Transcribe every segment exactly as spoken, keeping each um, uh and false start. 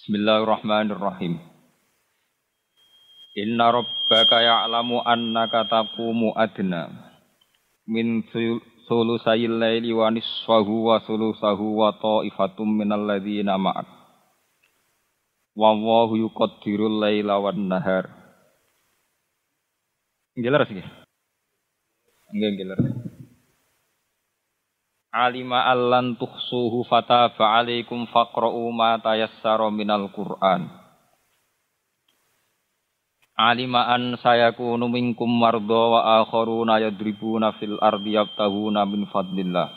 Bismillahirrahmanirrahim. Inna rabbaka ya'lamu annaka taqumu adna min sulusayil laili wa nisfahu wa sulusahu wa ta'ifatum minal ladzina ma'ak. Wallahu yuqaddirul laila wan nahar. Jelas iki? Nggih, jelas. Alima allan tuhsuhu fataba alaikum faqra'u ma tayassara minal Qur'an. Alima an sayakunu minkum marda wa akharuna yadribuna fil ardi yabtahuna min fadlillah.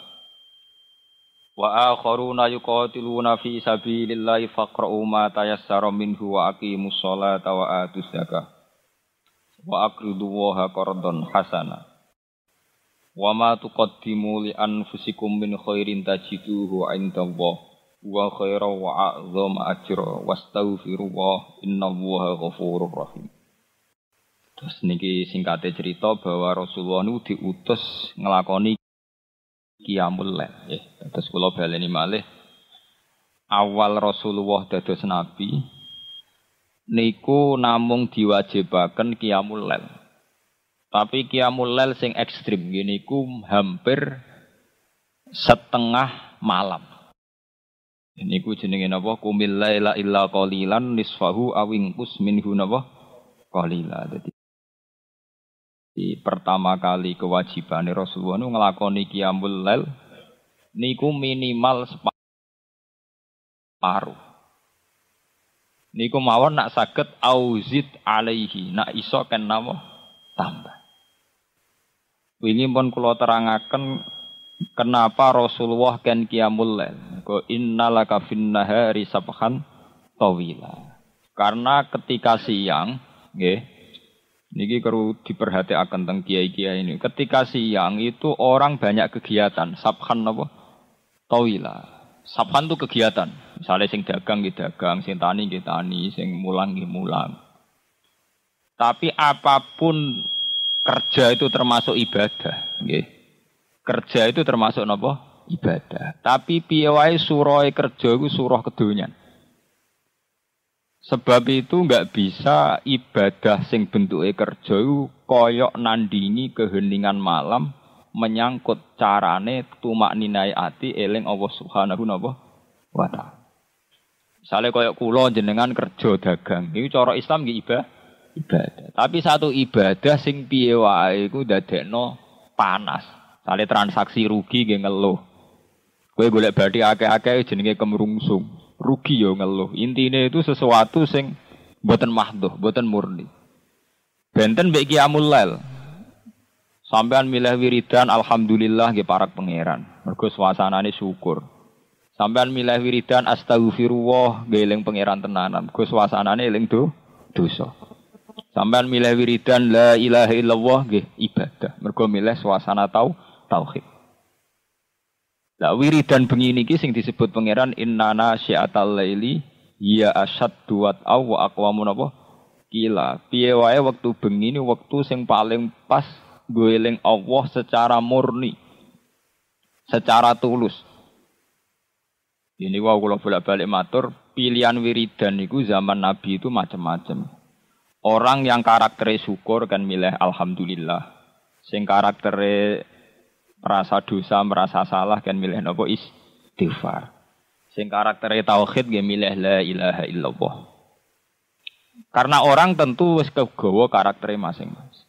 Wa akharuna yuqatiluna fi sabilillahi faqra'u ma tayassara minhu wa aqimus sholata wa atuz zakah. Wa aqridu waha qardan hasana. Wa ma tuqaddimu li anfusikum min khairin tajiduhu 'indallah wa khairan wa a'zama ajra wastaghfirullah innallaha ghafurur rahim. Terus niki singkate cerita bahwa Rasulullah niku diutus nglakoni qiyamul lail nggih. Terus kula baleni malih awal Rasulullah dados nabi niku namung diwajibaken qiyamul lail. Tapi qiyamul lail sing ekstrim gini ku hampir setengah malam. Ini ku jenenge napa? Qumil laila illa qalilan nisfahu awingkus minhu napa? Qalila. Dadi di pertama kali kewajibane Rasulullah nu nglakoni qiyamul lail niku minimal separuh. Niku mawon nak saged auzid alaihi, nak iso ken napa? Tambah. Wingi pun kula terangaken kenapa Rasulullah kan qiyamul lail. Ko innalaka fin nahari sabhan tawila. Karena ketika siang, nggih. Niki perlu diperhatikan tentang kiai-kiai ini. Ketika siang itu orang banyak kegiatan. Sabhan apa? Tawila. Sabhan itu kegiatan. Misalnya sing dagang nggih dagang, sing tani nggih tani, sing mulang nggih mulang. Tapi apapun kerja itu termasuk ibadah, nggih. Kerja itu termasuk napa? Ibadah. Tapi piye wae surah kerja iku surah kedonyan. Sebab itu enggak bisa ibadah sing bentuke kerja iku koyok nandingi keheningan malam menyangkut carane tumak ninai ati eling Allah Subhanahu wa taala. Misale koyok kula jenengan kerja dagang, iku cara Islam nggih ibadah. Ibadah. Tapi satu ibadah sing piye wae iku ndadekno panas. Sale transaksi rugi nggih ngeluh. Kowe golek bathi akeh-akeh jenenge kemrungsung. Rugi yo ngeluh. Intine itu sesuatu sing mboten mahdhuh, mboten murni. Benten mbek qiyamul lail. Sampean milih wiridan alhamdulillah nggih parak pangeran. Mergo suasanane syukur. Sampean milih wiridan astaghfirullah nggih eling pangeran tenanan. Mergo suasanane eling do dosa. Sampeyan milih wiridan la ilaha illallah nggih ibadah. Mergo milih suasana tau tauhid. Lah wiridan bengi niki sing disebut pangeran innana syi'atal laili ya asyaddu wa aw aqwamu napa? Kila. Piye wae wektu bengi ni wektu sing paling pas nggo eling Allah secara murni. Secara tulus. Ini wae kula bolak-balik matur, pilihan wiridan niku zaman Nabi itu macam-macam. Orang yang karakternya syukur kan milih alhamdulillah. Sing karakternya merasa dosa, merasa salah kan milih napa istighfar. Sing karakternya tauhid kan milih la ilaha illallah. Karena orang tentu wis kegawa karakternya masing-masing.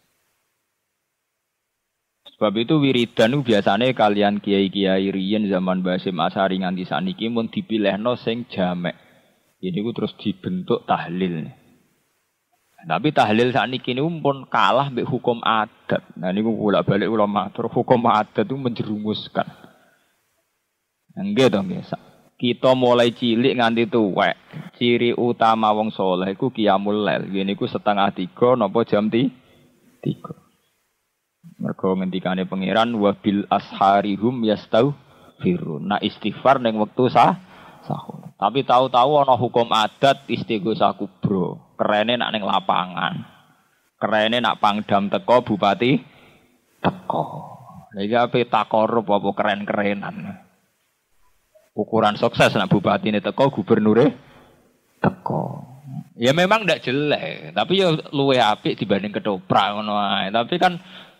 Sebab itu wiridan biasanya kalian kiai-kiai riyen zaman Basim Asari nganti saniki mun dipilihno sing jamek. Ini ku terus dibentuk tahlil. Tapi tahlil sakniki niku pun kalah mbek hukum adat. Nah niku bolak-balik kula matur, hukum adat itu menjerumuskan. Nggih to nggih. Kita mulai cilik nganti tuwek. Ciri utama wong saleh iku qiyamul lail. Ngene iku setengah tiga napa jam tiga. Mergo ngendikane pangeran wa bil asharihum yastaghfirun. Nah istighfar ning wektu sah sahur. Tapi tahu-tahu ana hukum adat istighosah kubro. Kerene nak ning lapangan. Kerene nak pangdam teko bupati teko. Lha iki ape takorup apa keren-kerenan. Ukuran sukses nak bupatine teko gubernure teko. Ya memang ndak jelek, tapi ya luwe apik dibanding ketoprak ngono ae. Tapi kan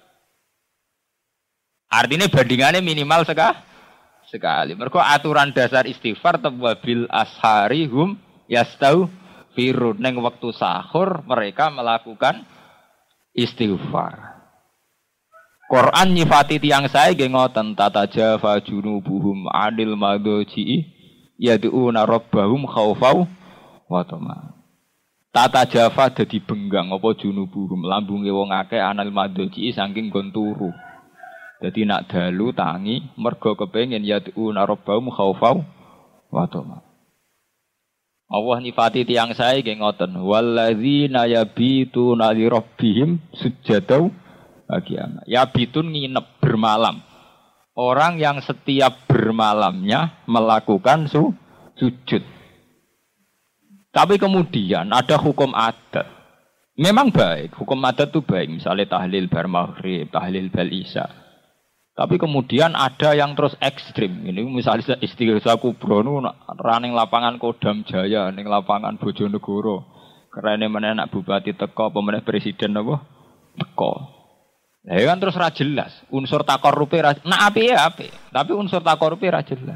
artinya bandingannya minimal sekah, sekali. Mergo aturan dasar istighfar tawabil ashari hum yastau firun neng waktu sahur mereka melakukan istighfar. Quran nyifati tiang saya nggih ngoten tatajafa junubuhum adil madoji yad'una rabbahum khaufau wa tama. Tatajafa dadi benggang apa junubuhum lambunge wong akeh anil madoji saking nggon turu. Dadi nak dalu tangi mergo kepengin yad'una rabbahum khaufau wa tama. Allah nyifati tiang saya nggih ngoten walladzina yabituna li rabbihim sujadau bagian. Ya bitun nginep bermalam. Orang yang setiap bermalamnya melakukan su, sujud. Tapi kemudian ada hukum adat. Memang baik, hukum adat itu baik. Misalnya tahlil bar maghrib, tahlil bal isya. Tapi kemudian ada yang terus ekstrim. Ini misalnya istighosa kubro running lapangan Kodam Jaya, ning lapangan Bojonegoro. Karena mana anak bupati teko, pemenang presiden apa? Teko. Ya kan terus ra jelas, unsur takorupe ra nah api ya api, tapi unsur takorupe ra jelas.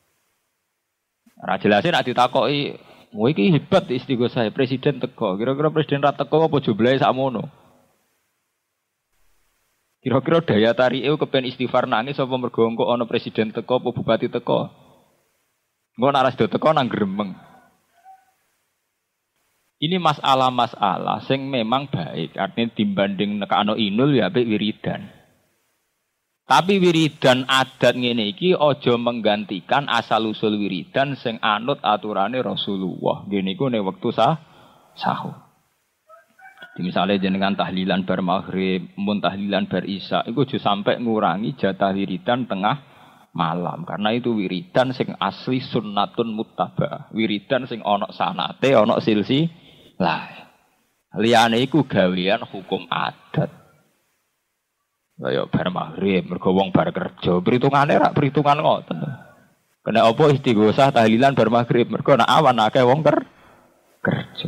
Ra jelase nek ditakoki, "Kowe iki hebat istighosa presiden teko." Kira-kira presiden ra teko apa jumlahe sakmono? Kira-kira daya tarike kepen istighfar nangis apa mergo engko ana presiden teko apa bupati teko? Engko nek ra sedo teko nang gremeng. Ini masalah-masalah sing memang baik, artinya dibanding nekano inul ya apik wiridan. Tapi wiridan adat ngene iki aja menggantikan asal usul wiridan sing anut aturane Rasulullah. Ngene iku nek wektu sah sahur. Di misalnya jenengan tahlilan bar maghrib, mun tahlilan bar isya, iku aja sampai ngurangi jatah wiridan tengah malam karena itu wiridan sing asli sunnatun muttaba. Wiridan sing ana sanate, ana silsi lah, liyane iku gawean hukum adat. Kaya bar maghrib, mergo wong bar kerja, perhitungane rak perhitungan ngoten. Kena apa istighosah tahlilan bar maghrib, mergo nek awan akeh wong ker kerja.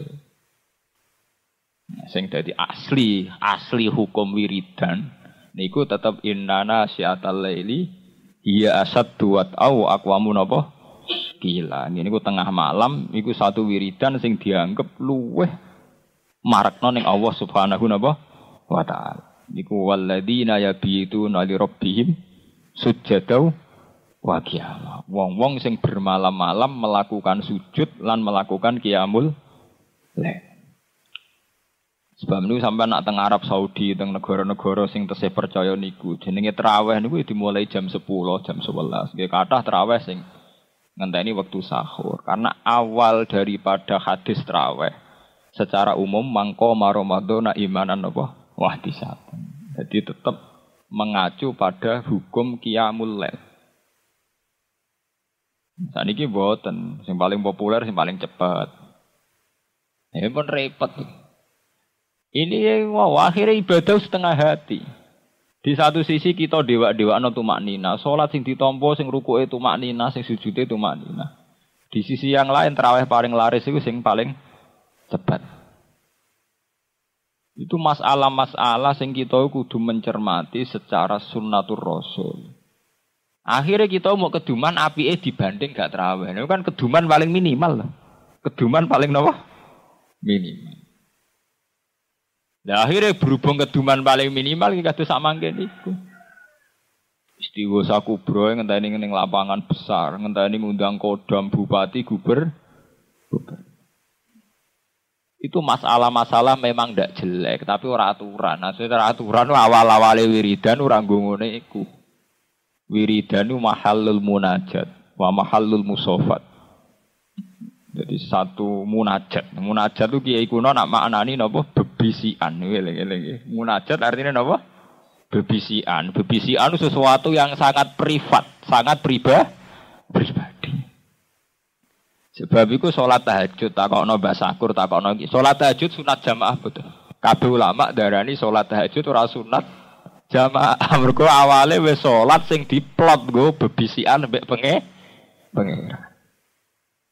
Nah, sing dadi asli, asli hukum wiridan niku tetep innana syiatal laili hiya asaddu wa au aqwamun apa? Gila, ini ku tengah malam, iku satu wiridan sing dianggap luweh marakno ning Allah Subhanahu wa taala. Niku walladzina yabituna li rabbihim sujadau wa qiyam. Wong-wong sing bermalam-malam melakukan sujud lan melakukan qiyamul lail. Sebab niku sampean nak teng Arab Saudi, teng negara-negara sing tesih percaya niku, jenenge traweh niku dimulai jam sepuluh, jam sebelas. Nggih kathah traweh sing ngenteni waktu sahur karena awal daripada hadis traweh secara umum mangko maromadona imanan apa wahtisatan. Jadi tetap mengacu pada hukum qiyamul lail. Saniki mboten sing paling populer sing paling cepat. Ya pun repot. Ini wow, akhirnya ibadah setengah hati. Di satu sisi kita dewa-dewakno tumaknina, salat sing ditampa sing rukuke tumaknina, sing sujude tumaknina. Di sisi yang lain tarawih paling laris itu sing paling cepat. Itu masalah-masalah sing kita kudu mencermati secara sunnatur rasul. Akhirnya kita mau keduman apike dibanding gak tarawih. Itu kan keduman paling minimal. Keduman paling napa? Minimal. Nah, akhirnya berhubung keduman paling minimal iki kados sak mangke niku. Istighosa kubro ngenteni ning lapangan besar, ngenteni ngundang kodam bupati guber. Itu masalah-masalah memang ndak jelek, tapi ora aturan. Nah, secara aturan awal-awale wiridan ora ngene iku. Wiridan itu mahallul munajat wa mahallul musofat. Jadi satu munajat. Munajat itu kiai kuno nak maknani napa bebisian. Nggih, munajat artinya napa? Bebisian. Bebisian itu sesuatu yang sangat privat, sangat pribadi. pribadi. Sebab itu sholat tahajud takokno Mbah Sakur takokno iki. Sholat tahajud sunat jamaah betul. Kabeh ulama darani sholat tahajud ora sunat jamaah. Mergo awale wis sholat sing diplot nggo bebisian mbek penge pengira.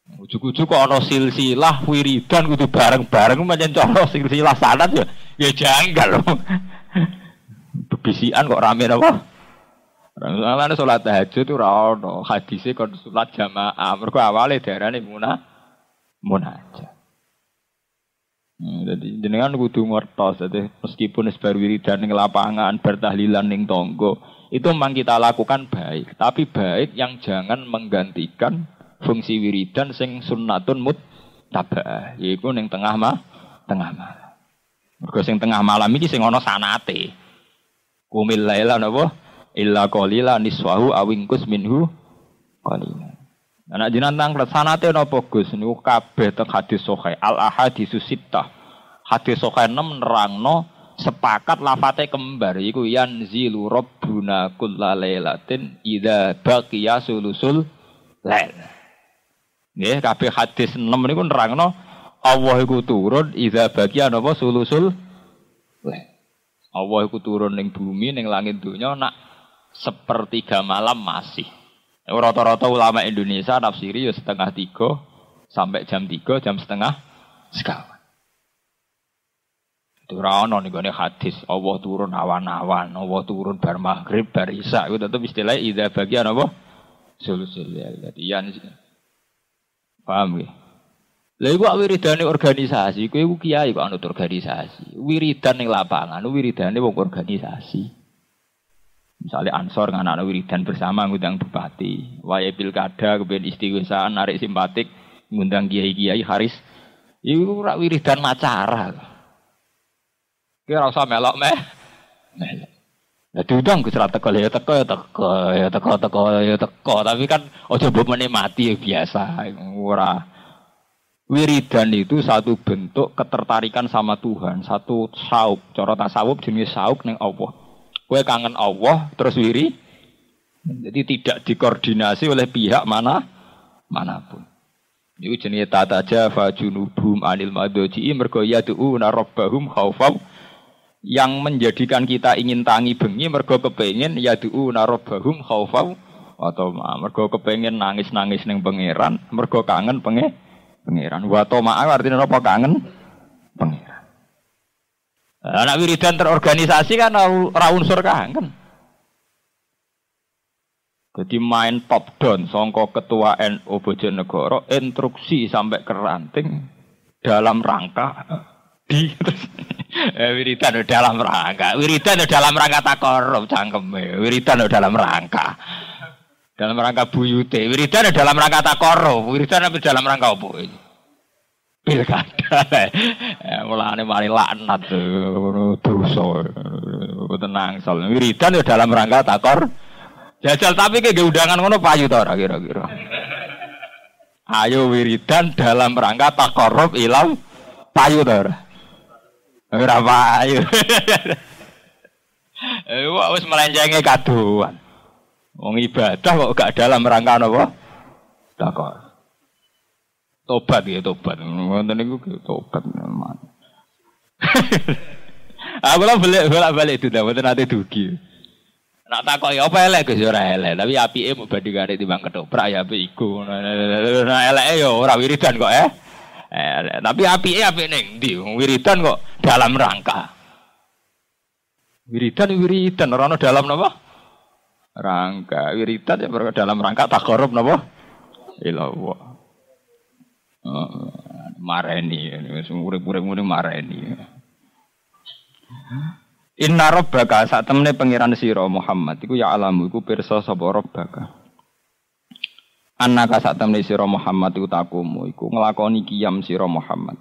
Ujug-ujug kok ana silsilah wiridan kudu bareng-bareng pancen cara silsilah sanad ya ya janggal. Bebisian kok rame napa? Rame salat tahajud ora ono, hadise kon salat jamaah. Mergo awale darane munah munajat. Hmm, jadi jenengan kudu ngertos dadi meskipun wis bar wiridan ning lapangan, bar tahlilan ning tangga, itu memang kita lakukan baik, tapi baik yang jangan menggantikan fungsi wiridan sing sunnatun muttaba'ah, yaiku ning tengah mah, tengah malam. Mergo sing tengah malam iki sing ana sanate. Qumil laila napa? Illa qalila niswahu awingkus minhu qalila. Anak jinan tang sanate napa Gus niku kabeh teng hadis sahih al ahaditsus sittah. Hadis sahih enam nerangno sepakat lafate kembar iku yanzilu rabbuna kullalailatin idza baqiya sulusul lail. Nggih kabeh hadis enam niku nerangno Allah iku turun idza baqiya napa sulusul lail. Allah iku turun ning bumi ning langit donya nak sepertiga malam masih. Rata-rata ulama Indonesia nafsiri ya setengah tiga sampai jam tiga, jam setengah sekawan. Itu rano nih gue hadis. Allah turun awan-awan, Allah turun bar maghrib, bar isya. Itu tetap istilahnya idza bagian apa? Sulusul ya. Yan. Paham ya? Lha iku wiridane organisasi, kowe iku kiai kok anut organisasi. Wiridan ning lapangan, wiridane wong organisasi. Misalnya Ansor anak-anak wiridan bersama ngundang bupati, waya pilkada kemudian istighosah narik simpatik ngundang kiai-kiai haris. Iku ora wiridan acara. Ki ora usah melok meh. Melok. Lah diundang Gus ra teko ya teko ya teko ya teko teko ya teko, tapi kan aja mbok menikmati ya biasa. Ora. Wiridan itu satu bentuk ketertarikan sama Tuhan, satu sauk, cara tasawuf jenis sauk ning Allah. Kowe kangen Allah terus wiri. Jadi tidak dikoordinasi oleh pihak mana manapun. Iku jenenge tata jafa junubum anil madji mergo yad'una rabbahum khaufau, yang menjadikan kita ingin tangi bengi mergo kepengin yad'una rabbahum khaufau atau mergo kepengin nangis-nangis ning pangeran, mergo kangen penge pangeran. Wa tama artine apa kangen pangeran. Anak wiridan terorganisasi kan ora unsur kangen. Jadi main top down songko ketua N U Bojonegoro instruksi sampai ke ranting dalam rangka di eh, wiridan dalam rangka wiridan dalam rangka takorup cangkeme wiridan dalam rangka dalam rangka buyute wiridan dalam rangka takorup wiridan dalam rangka apa ini? Pilkada, mulane mari laknat dosa, tenang soal wiridan ya dalam rangka takor, jajal tapi kayak undangan ngono payu ta ora kira-kira. Ayo wiridan dalam rangka takorup ilau payu ta ora? Ora payu. Eh wis melenjenge kaduan. Wong ibadah kok gak dalam rangka napa? Takor. Tobat ya tobat, ngoten niku tobat memang. Aku lah balik balik balik itu dah, betul nanti dugi. Nak takoi apa elek Gus ora elek, tapi apike mau bandingane timbang ketoprak ya apik iku. Nah eleke ya ora wiridan kok eh. Elek, tapi apike apik ning ndi? Wiridan kok dalam rangka. Wiridan wiridan ora ono dalam napa? Rangka. Wiridan ya dalam rangka takarrub napa? Ilallah. Oh, mareni, urip-urip muni mareni. Inna rabbaka sak temene pangeran sira Muhammad iku ya alamu iku pirsa sapa rabbaka. Annaka sak temene sira Muhammad iku takumu iku nglakoni qiyam sira Muhammad.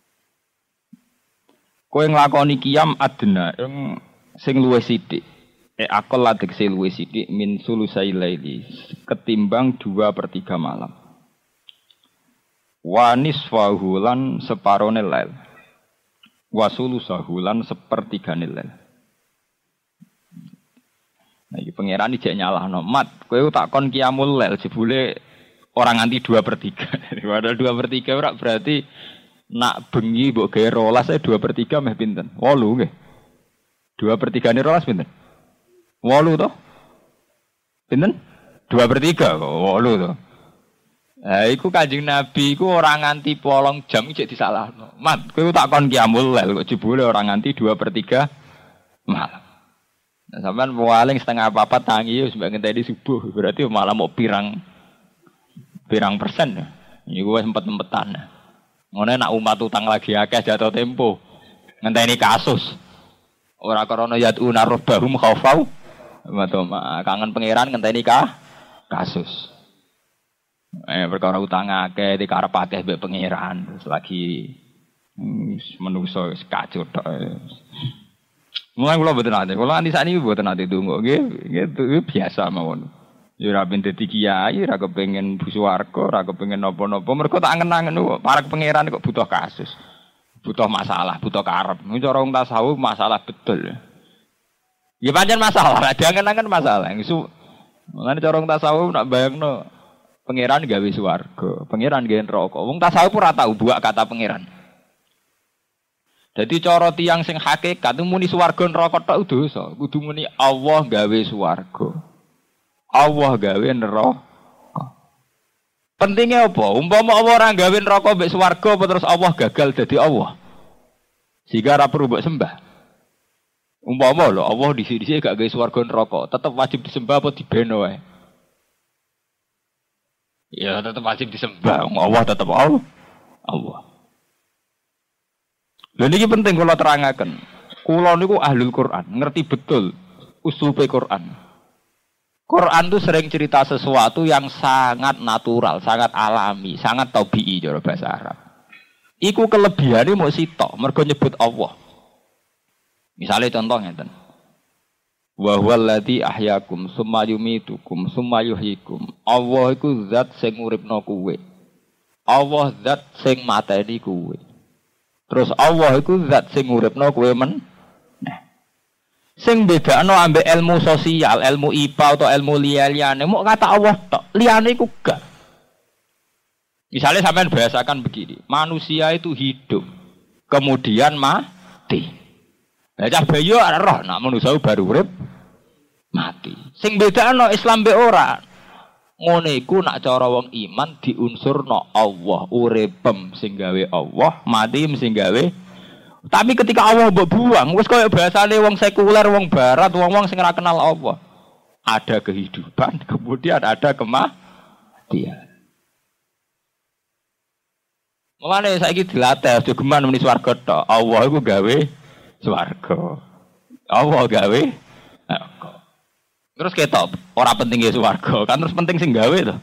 Kowe nglakoni qiyam adna sing luwih sithik. Eh akal ladek sing luwih sithik min sulusai laili ketimbang dua per tiga malam. Wa nisfahu lan separone lail. Wa sulusahu lan sepertigane lail. Nah iki pangeran iki nyalahno mat, kowe tak kon qiyamul lail jebule orang nganti dua per tiga. Padahal dua per tiga ora berarti nak bengi mbok gawe rolas e dua per tiga meh pinten? wolu nggih. dua per tiga ne rolas pinten? wolu to? Pinten? dua per tiga kok wolu to. Lah iku Kanjeng Nabi iku ora nganti polong jam cek disalahno. Mat, kowe tak kon qiyamul lail kok jebule ora nganti dua per tiga malam. Nah, sampean paling setengah apa-apa tangi wis mbak ngenteni subuh, berarti malah mau pirang pirang persen. Iku wis empet-empetan. Ngono nak umat utang lagi akeh jatuh tempo. Ngenteni kasus. Ora krana yaduna rabbahum khaufau. Matoma kangen pangeran ngenteni ka kasus. Eh perkara utang akeh dikarep akeh mbek pangeran terus lagi hmm, menungso kacau tok. Mulai kula mboten ate. Kula anti sakniki mboten ate donga nggih, nggih biasa mawon. Ya ora ben dadi kiai, ora kepengin swarga, ora kepengin napa-napa. Mergo tak angen-angen kok para pangeran kok butuh kasus. Butuh masalah, butuh karep. Nek cara wong tasawuf masalah betul. Ya pancen masalah, diangen-angen masalah. Isu mulane cara wong tasawuf nak bayangno pangeran gawe swarga, pangeran gawe neraka. Wong tasawuf ora tau buak kata pangeran. Jadi cara tiyang sing hakikat muni swarga neraka tok dosa. Kudu muni Allah gawe swarga. Allah gawe neraka. Pentingnya apa? Umpama Allah ora gawe neraka mbek swarga apa terus Allah gagal dadi Allah. Sehingga ora perlu mbok sembah. Umpama lho Allah disi-disi gak gawe swarga neraka, tetep wajib disembah apa dibeno wae? Ya tetep wajib disembah. Allah tetep Allah. Allah. Lha niki penting kula terangaken. Kula niku ahlul Quran, ngerti betul uslupe Quran. Quran itu sering cerita sesuatu yang sangat natural, sangat alami, sangat tabii cara bahasa Arab. Iku kelebihane mok sitok, mergo nyebut Allah. Misale contoh ngeten. Wa huwal ladzi ahyakum summa yumitukum summa yuhyikum. Allah iku zat sing uripno kowe. Allah zat sing mateni kowe. Terus Allah iku zat sing uripno kowe men. Nah. Sing bedakno ambek ilmu sosial, ilmu I P A atau ilmu liya-liyane mok kata Allah tok. Liyane iku gak. Misalnya sampean bahasakan begini, manusia itu hidup, kemudian mati. Lah cah bayi ora roh, nak manusia baru urip mati. Sing bedakno Islam mbek ora. Ngene iku nak cara wong iman diunsurno Allah, uripem sing gawe Allah, mati sing gawe. Tapi ketika Allah mbok buang, wis koyo bahasane wong sekuler, wong barat, wong-wong sing ora kenal Allah. Ada kehidupan, kemudian ada kematian. Mulane saiki dilatih aja geman muni swarga tok. Allah iku gawe swarga. Allah gawe neraka. Terus ketok, ora penting ya swarga, kan terus penting sing gawe to.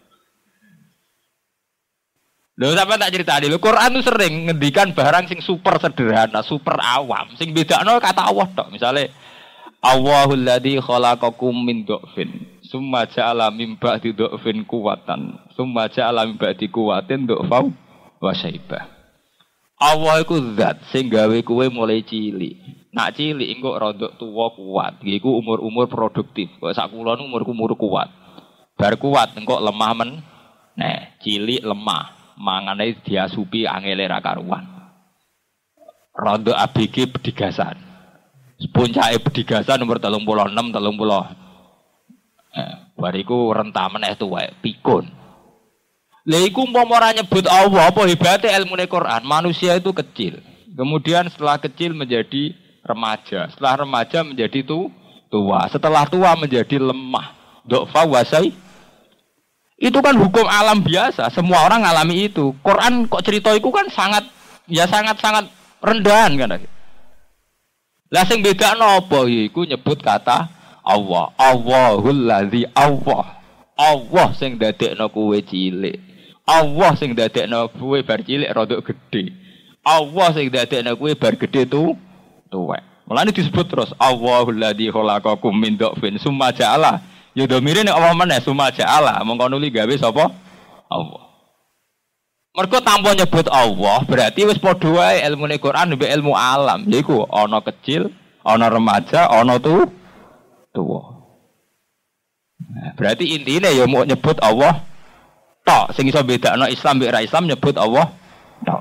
Lho sampeyan tak critani, lho Quran itu sering ngendikan barang sing super sederhana, super awam, sing bedakno kata Allah tok. Misale Allahul ladzi khalaqakum min dhafin, summa ja'ala min ba'di dhafin quwwatan, summa ja'ala min ba'di quwwatin dhafau wa syaibah. Allah iku zat sing gawe kowe mulai cilik. Nak cilik engko rodok tuwa kuat. Iku umur-umur produktif. Kok sak kula nu umur-umur kuat. Bar kuat engko lemah men. Nah, cilik lemah. Mangane diasupi angele ra karuan. Rodok A B G bedigasan. Puncake bedigasan umur tiga puluh enam tiga puluh. Eh, bariku rentah meneh tuwek pikun. Lha iku umpama ora nyebut Allah apa hebate ilmune Quran. Manusia itu kecil. Kemudian setelah kecil menjadi remaja, setelah remaja menjadi tu, tua, setelah tua menjadi lemah. Dofa wasai. Itu kan hukum alam biasa, semua orang ngalami itu. Quran kok cerita itu kan sangat ya sangat-sangat rendahan kan. Lah sing bedakno apa iku nyebut kata Allah. Allahul ladzi Allah. Allah sing dadekno kowe cilik. Allah sing dadekno kowe bar cilik rodok gedhe. Allah sing dadekno kowe bar gedhe tu tuwek. Mulane disebut terus Allahul ladzi khalaqakum min dhafin summa ja'ala. Ya domire nek Allah meneh summa ja'ala, mongko nuli gawe sapa? Allah. Mergo tanpa nyebut Allah, berarti wis padha wae ilmune Quran mbek ilmu alam. Yaiku ana kecil, ana remaja, ana tu tuwa. Nah, berarti intine ya mau nyebut Allah tok. Sing iso bedakno Islam mbek ra Islam nyebut Allah tok.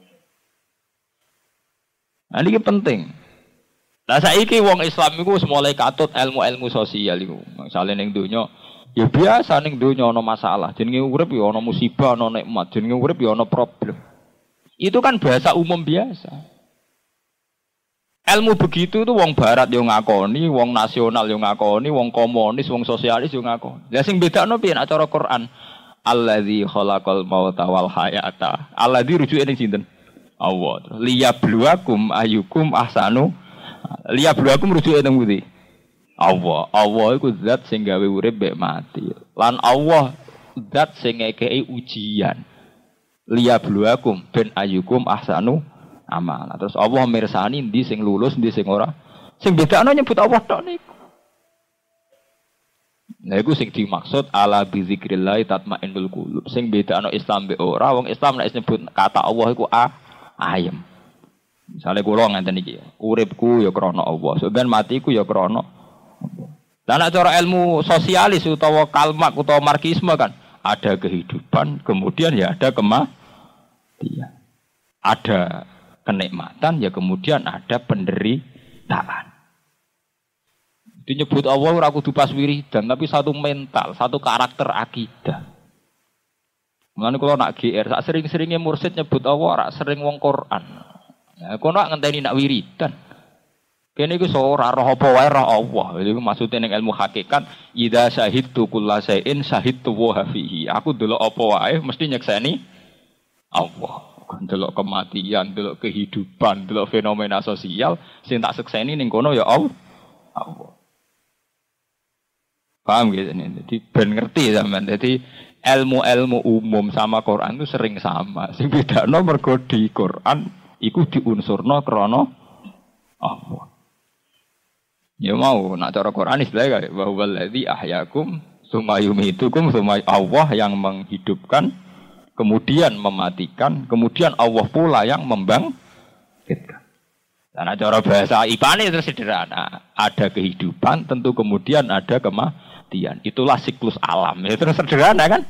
Nah, ini penting. Lah saiki wong Islam iku wis mulai katut ilmu-ilmu sosial iku. Misale ning donya Ya biasa ning donya ana masalah, jenenge urip ya ana musibah, ana nikmat, jenenge urip ya ana problem. Itu kan bahasa umum biasa. Ilmu begitu itu wong barat yo ngakoni, wong nasional yo ngakoni, wong komunis, wong sosialis yo ngakoni. Lah sing bedakno piye nek cara Quran? Allazi khalaqal mauta wal hayata. Allazi rujuke ning sinten? Allah. Liyabluwakum ayyukum ahsanu. Liyabluwakum rujuke ning pundi? Allah, Allah iku zat sing gawe urip mek mati. Lan Allah zat sing ngekeki ujian. Liyabluwakum ben ayyukum ahsanu amala. Terus Allah mirsani ndi sing lulus, ndi sing ora. Sing bedakno nyebut Allah tok niku. Nah iku sing dimaksud ala bi zikrillah tatmainnul qulub. Sing bedakno Islam mek ora, wong Islam nek nyebut kata Allah iku a ayem. Misale kula ngenten iki, uripku ya krana Allah, sampeyan matiku ya krana dan cara ilmu sosialis utawa kalmak utawa marxisme kan ada kehidupan, kemudian ya ada kematian. Ada kenikmatan, ya kemudian ada penderitaan. Itu nyebut Allah ora kudu pas wiridan, tapi satu mental, satu karakter akidah. Mulane kula nak G R, sak sering-seringe mursid nyebut Allah ora sering wong Quran. Ya kono nak ngenteni nak wiridan. Kene iku ora roh apa wae roh Allah. Iku maksude ning ilmu hakikat, idza syahidtu kullasain syahidtu wa fihi. Aku delok apa wae mesti nyekseni Allah. Delok kematian, delok kehidupan, delok fenomena sosial sing tak sekseni ning kono ya Allah. Allah. Paham gitu nih. Jadi ben ngerti sampean. Jadi ilmu-ilmu umum sama Quran itu sering sama. Sing bedakno mergo di Quran iku diunsurna krana Allah. Ya mau nak cara Quran istilahnya bahwa wallazi ahyakum tsumma yumitukum tsumma Allah yang menghidupkan kemudian mematikan kemudian Allah pula yang membangkitkan. Dan cara bahasa I P A ini terus sederhana, ada kehidupan tentu kemudian ada kematian. Itulah siklus alam. Ya terus sederhana kan?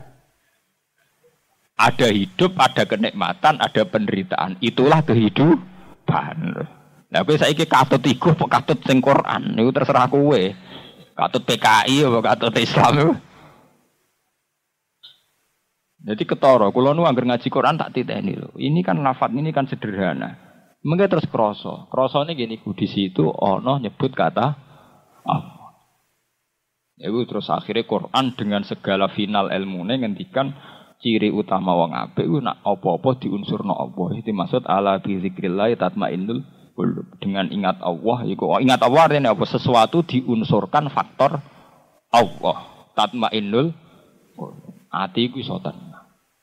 Ada hidup, ada kenikmatan, ada penderitaan. Itulah kehidupan. Nah, kowe saiki katut iku apa katut sing Quran niku terserah kowe. Katut P K I apa katut Islam niku. Jadi ketara, kula nu anggere ngaji Quran tak titeni lho. Ini kan lafaz ini kan sederhana. Mengke terus krasa. Krasane ngene iku di situ ana nyebut kata Allah. Iku terus akhirnya Quran dengan segala final ilmune ngendikan ciri utama wong apik ku nak apa-apa diunsurna Allah. Itu maksud ala bi zikrillah tatmainnul dengan ingat Allah, iku oh, ingat Allah artinya apa? Sesuatu diunsurkan faktor Allah. Tatmainnul ati iku iso tenang.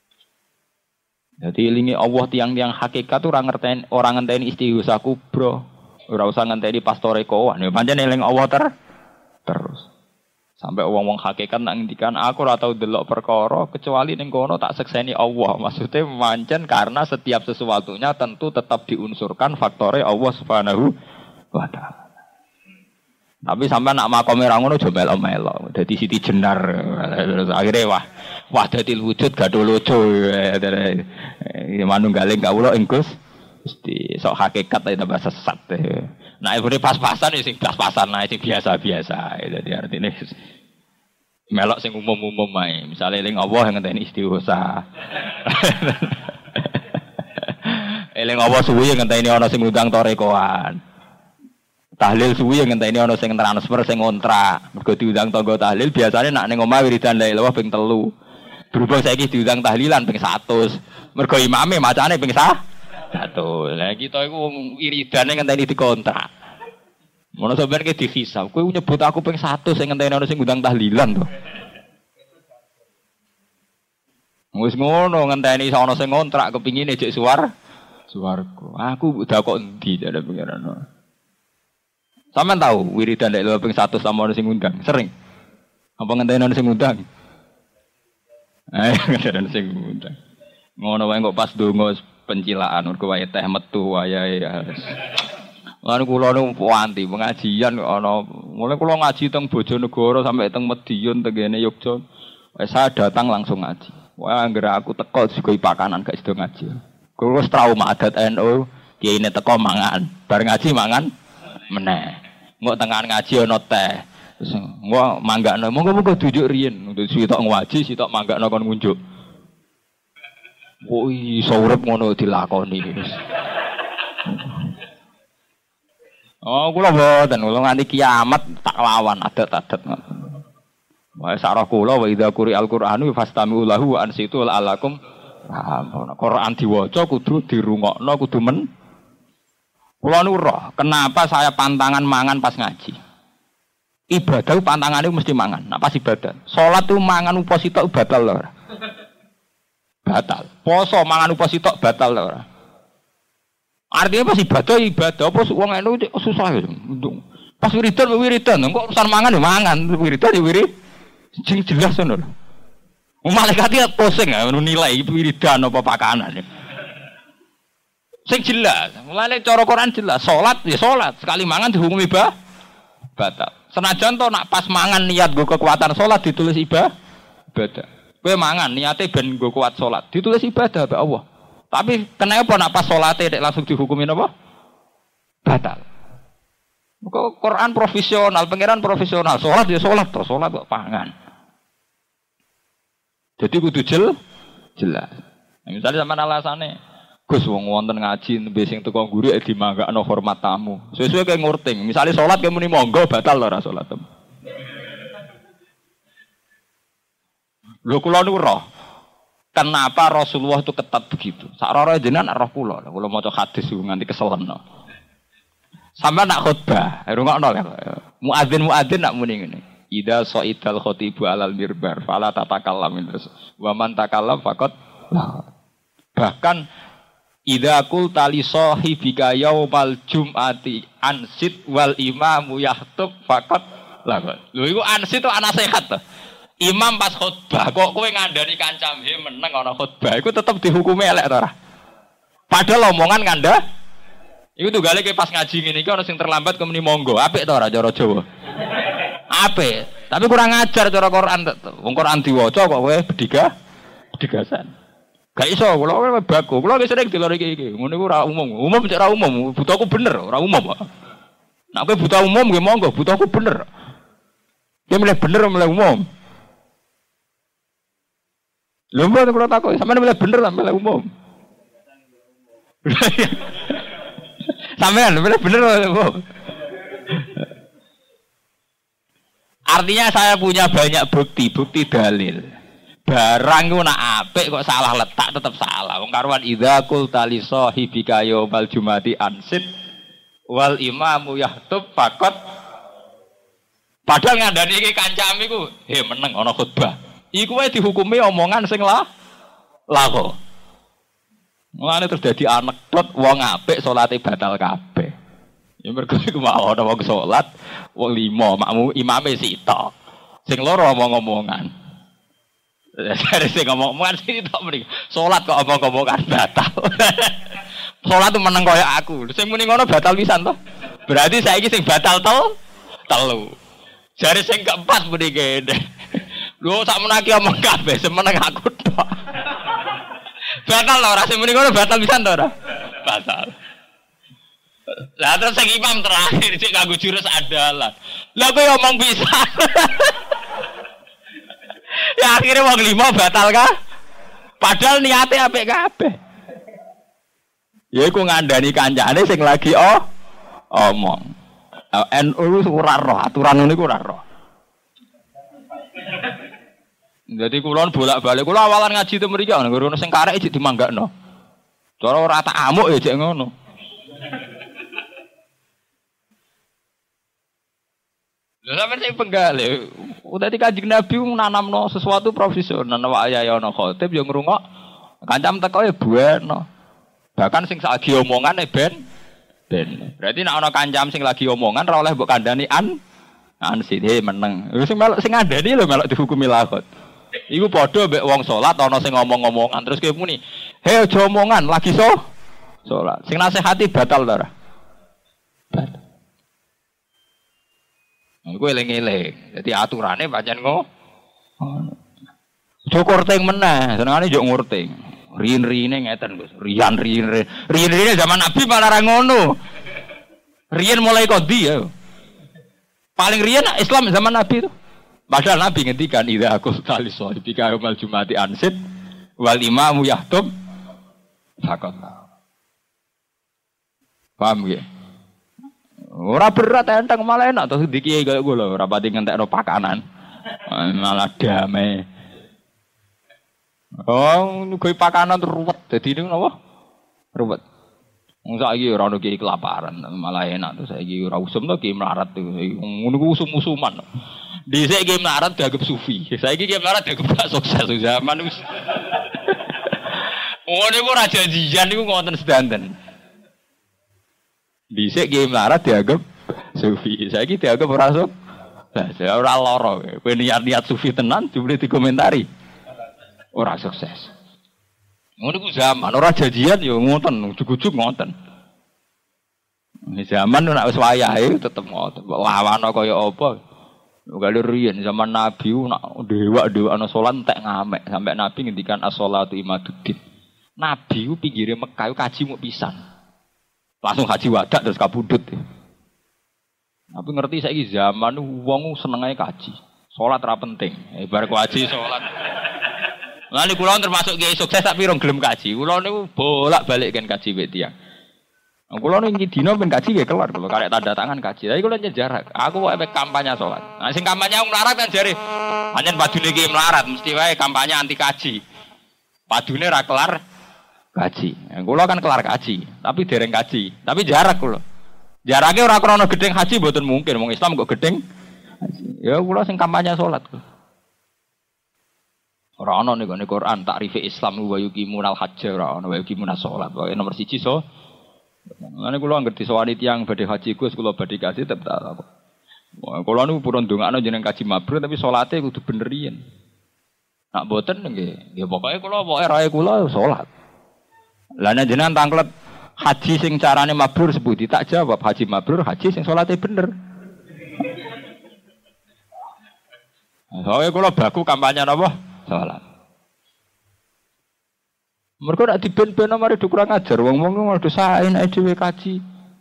Jadi ilingi Allah tiang-tiang hakikat tuh orang ngertiin orang ngenteni istighosah kubro, ora usah ngenteni pastore kowan. Ya pancen eling Allah ter terus. Sampai wong-wong hakikat nak ngendikan aku ora tau delok perkara kecuali ning kono tak sekseni Allah. Maksudnya mancen karena setiap sesuatunya tentu tetap diunsurkan faktore Allah Subhanahu wa taala. Tapi sampai nak makome ra ngono aja melo-melo. Dadi siti jenar. Terus akhire wah wahdatil wujud gadho lojo. Manunggaling kawula ing Gusti sok hakikat ta tambah sesat. Nah, ibune pas-pasan sing pas-pasan ae sing biasa-biasa. Dadi artine melok sing umum-umum ae. Misale eling Allah ngenteni istighosah. Eling Allah suwi ngenteni ana sing ngundang torekoan. Tahlil suwi ngenteni ana sing transfer sing ngontrak. Mergo diundang tangga tahlil biasane nak ning omah wiridan la ilaha ping telu. Berhubung saiki diundang tahlilan ping seratus. Mergo imame macane ping satu. Lah kita iku wiridane ngenteni dikontrak. Ngono sampeyan ki dihisab. Kowe nyebut aku ping satu sing ngenteni ana sing ngundang tahlilan to. Wis ngono ngenteni ana sing ngontrak kepingine jek suwar suwarga. Aku udah kok endi jare pengiran. Sampeyan tahu wiridan nek lho ping satu sama ana sing ngundang? Sering. Apa ngenteni ana sing ngundang? Eh, ngenteni sing ngundang. Ngono wae kok pas donga pencilaan mergo wae teh metu wayahe. Lan kula nu wanti pengajian kok ana mulai kula ngaji teng Bojonegoro sampai teng Medion tengene Yogyakarta. Wes saya datang langsung ngaji. Wah anggere aku teko sego pakanan gak sido ngaji. Kula wis trauma adat N U, kiyaine teko mangan, bar ngaji mangan meneh. Engko tengahan ngaji ana teh. Wah, manggakno monggo-monggo tunjuk riyen. Sitok ngwaji, sitok manggakno kon ngunjuk. Kok iso urip ngono dilakoni. Oh, kula mboten, kula nganti kiamat tak lawan adat-adat ngoten. Wa sarah kula wa idza quri'al qur'anu fastami'u lahu wa ansitu la'alakum rahman. Quran diwaca kudu dirungokno, kudu men. Kula nu roh, kenapa saya pantangan mangan pas ngaji? Ibadah pantangane mesti mangan. Nah, pas ibadah. Salat tuh mangan uposita batal lho ora? Batal. Poso mangan uposita batal lho ora? Artinya pas ibadah ibadah apa wong enu susah ya. Pas wiridan wiridan kok urusan mangan ya mangan, wiridan ya wirid. Sing jelas ngono lho. Malaikat ya pusing ya nilai wiridan apa pakanan. Sing jelas. Mulane cara Quran jelas, salat ya salat, sekali mangan dihukumi bah batal. Senajan to nak pas mangan niat nggo kekuatan salat ditulis ibadah. Ibadah. Kowe mangan niate ben nggo kuat salat, ditulis ibadah mbek Allah. Tapi kenapa nak pas salate nek langsung dihukumin apa? Batal. Kok Quran profesional, pangeran profesional, salat ya salat to, salat kok pangan. Jadi kudu jel jelas. Nah, misalnya sampean alasane Gus wong wonten ngaji nembe sing teko guru e dimanggakno hormat tamu. Sesuai kaya ngurting. Misale salat kaya muni monggo batal ora salat. Lho kula niku roh. Kenapa Rasulullah itu ketat begitu? Sakrono jenengan roh kula. Kula maca hadis nganti keselen. Sampai nak khutbah, rungokno lho. Muadzin-muadzin nak muni ngene. Idza sa'idal khatibu alal mirbar fala tatakallam terus. Wa man takallam faqat bahkan idza qulta li sahibika yaumal jum'ati ansit wal imamu yahtub faqat la. Lho iku ansit itu ana sehat to. Imam pas khutbah kok kowe ngandani kancam he meneng ana khutbah iku tetep dihukumi elek to ora? Padahal omongan nganda iku tunggale ke pas ngaji ngene iki ana sing terlambat kemeni monggo. Apik to ora cara Jawa? Apik. Tapi kurang ajar cara Quran. Wong Quran diwaca kok kowe bediga bedigasan. Gak iso kula kowe baku. Kula wis sering delok iki iki. Ngono iku ora umum. Umum cek ora umum. Butuhku bener, ora umum kok. Nek kowe butuh umum nggih monggo, butuhku bener. Dia milih bener milih umum. Lho mbok kula takok, sampeyan milih bener ta milih umum? Sampeyan milih bener milih umum. Artinya saya punya banyak bukti, bukti dalil. Barang ku nak apik kok salah letak tetap salah. Wong karuan idza qulta li sahibika yaumal jumati ansit wal imamu yahtub faqat. Padahal ngandani iki kancam iku, he meneng ana khutbah. Iku wae dihukumi omongan sing lah lako. Mulane terus dadi anekdot wong apik salate batal kabeh. Ya mergo iku mau ana wong salat, wong lima makmu imame sitok. Sing loro omong-omongan. Jare sing ngomong-omongan sitok mriki. Salat kok omong-omongan batal. Salat tuh meneng kaya aku. Sing muni ngono batal pisan to. Berarti saiki sing batal tel telu. Jare sing keempat muni kene. Lho sak menaki omong kabeh semeneng aku tok. Batal lho ora sing muni ngono batal pisan to ora? Batal. Lah terus sing imam terakhir sik kanggo jurus adalah. Lah kowe omong pisan. Ya akhirnya wong lima batal kah? Padahal niatnya apik kabeh. Ya iku ngandani kancane sing lagi oh omong. N U ora roh aturan niku ora roh. Jadi kula bolak-balik kula awalan ngaji te mriki ana ngono sing karek iki dimanggakno. Cara ora tak amuk ya jek ngono. Lha sampeyan sing penggale. Dadi Kanjeng Nabi nanamno sesuatu profesional wa ayana khotib yo ngrungok. Kancam teko ya bueno. Bahkan sing saiki omongane ben ben. Berarti nek ana kancam sing lagi omongan ora oleh mbok kandhani an an sithik meneng. Sing melok sing ngandani lho melok dihukumi lakot. Iku padha mbek wong salat ana sing ngomong-ngomongan terus kowe muni, "He aja omongan, lagi so salat." Sing nasihati batal ta ora? Batal. Kowe eling-eling. Dadi aturane pancen ngono. Aja korting meneh, senengane yo ngurting. Riyen-riyene ngeten, Gus. Riyan-riyen. Riyen-riyene zaman Nabi malah ra ngono. Riyen mulai kok ndi ya? Paling riyen Islam zaman Nabi itu. Padahal Nabi ngendikan idza aku tali sohibika yaumal jumati ansid wal imamu yahtub fakot. Paham ya? Ora berat enteng malah enak terus dikiai kaya gue lho, ora pati ngentekno pakanan. Malah damai. Oh, gue pakanan ruwet. Dadi niku napa? Ruwet. Wong saiki ora ono kiai kelaparan, malah enak terus saiki ora usum to kiai melarat to. Ngono ku usum-usuman. Dhisik kiai melarat dianggap sufi. Saiki kiai melarat dianggap gak sukses zaman wis. Oh niku ora janjian niku ngoten sedanten. Dhisik kiai melarat dianggap sufi. Saiki dianggap ora sukses. Lah saya ora lara. Kowe niat-niat sufi tenan jebule dikomentari. Ora sukses. Ngono ku zaman ora janjian ya ngoten, ujug-ujug ngoten. Ini zaman nek wis wayahe tetep ngoten. Mbok lawana kaya apa? Kalau riyen zaman Nabi nak dewa-dewa ana salat entek ngamek sampai Nabi ngendikan as-shalatu imaduddin. Nabi ku pinggire Mekah kaji muk pisan. Langsung haji wadak terus kabudut. Tapi ngerti saiki zaman wong senengane kaji. Salat ora penting. Eh bar kaji salat. Lah niku kula termasuk kiai sukses tak pirang gelem kaji. Kula niku bolak-balik kan kaji wek tiyang. Kula niku dina ben kaji nggih kelar kula karek tanda tangan kaji. Tapi kula nyejarak. Aku kok efek kampanye salat. Nah sing kampanye wong melarat kan jare pancen padune kiai melarat mesti wae kampanye anti kaji. Padune ra kelar kaji. Kula kan kelar kaji, tapi dereng kaji. Tapi jarak kula. Jarake ora krana gedeng haji mboten mungkin. Wong Islam kok gedeng haji. Ya kula sing kampanye salat. Ora ana ning gone Quran takrife Islam wa yuqimunal hajj ora ana wa yuqimunas shalat. Pokoke nomor siji so. Ngene kula anggere disowani tiyang badhe haji Gus kula badhe kaji tetep tak apa. Kula niku purun ndongakno jeneng kaji mabrur tapi salate kudu bener yen. Nak mboten nggih, nggih pokoke kula pokoke rae kula salat. Lah nek jenengan tanglet haji sing carane mabrur sepundi tak jawab haji mabrur haji sing salate bener. Soale kula baku kampanye napa? Salat. Mergo nek diben-beno mari kurang ajar wong-wong ngono sae nek dhewe kaji.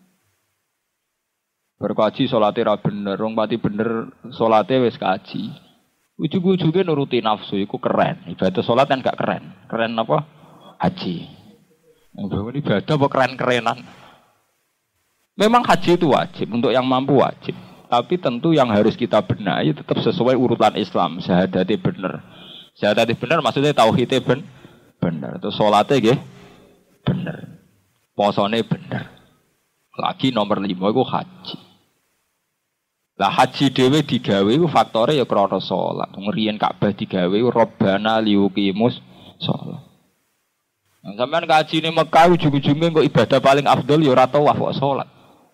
Berkaji salate ra bener, wong pati bener salate wis kaji. Ujug-ujuge nuruti nafsu iku keren. Ibadah salat kan gak keren. Keren apa? Haji. Ini ibadah apa keren-kerenan? Memang haji itu wajib untuk yang mampu wajib. Tapi tentu yang harus kita benahi tetap sesuai urutan Islam. Syahadate bener. Syahadate bener maksudnya tauhidnya ben bener. Terus salatnya nggih bener. Posone bener. Lagi nomor lima itu haji. Lah haji dhewe digawe iku faktore ya krana salat. Ngriyen Ka'bah digawe Rabbana liyuqimus shalah. Nah, sampean kaji ning Mekah ujug-ujuge kok ibadah paling afdol ya ora tawaf kok salat.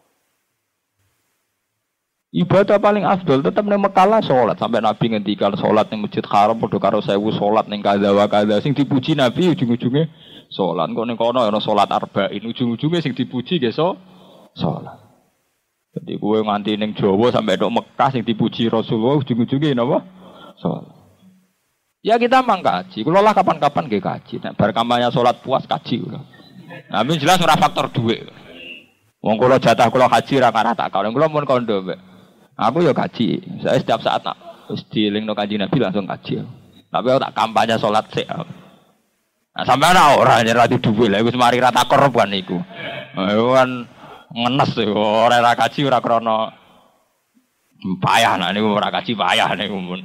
Ibadah paling afdol tetap ning Mekah lah salat. Sampai Nabi ngendikan salat ning Masjid Haram padha karo sewu salat ning kadha wa kadha sing dipuji Nabi ujug-ujuge salat. Kok ning kono ana salat arba'in ujug-ujuge sing dipuji nggih so salat. Jadi kowe nganti ning Jawa sampai tok Mekah sing dipuji Rasulullah ujug-ujuge napa? Salat. Ya kita mang kaji. Kula lah kapan-kapan nggih kaji. Nek bar kampanye salat puas kaji kula. Nah, tapi jelas ora faktor dhuwit. Wong kula jatah kula haji ra karah tak kawin. Kula mun kondo, Mbak. Aku ya kaji. Saya setiap saat nak wis dielingno Kanjeng Nabi langsung kaji. Tapi aku tak kampanye salat sik. Nah, sampeyan ora nyerah dhuwit lha wis mari ra takor bukan niku. Ayo kan ngenes ora ra kaji ora krana payah nek niku ora kaji payah niku mun.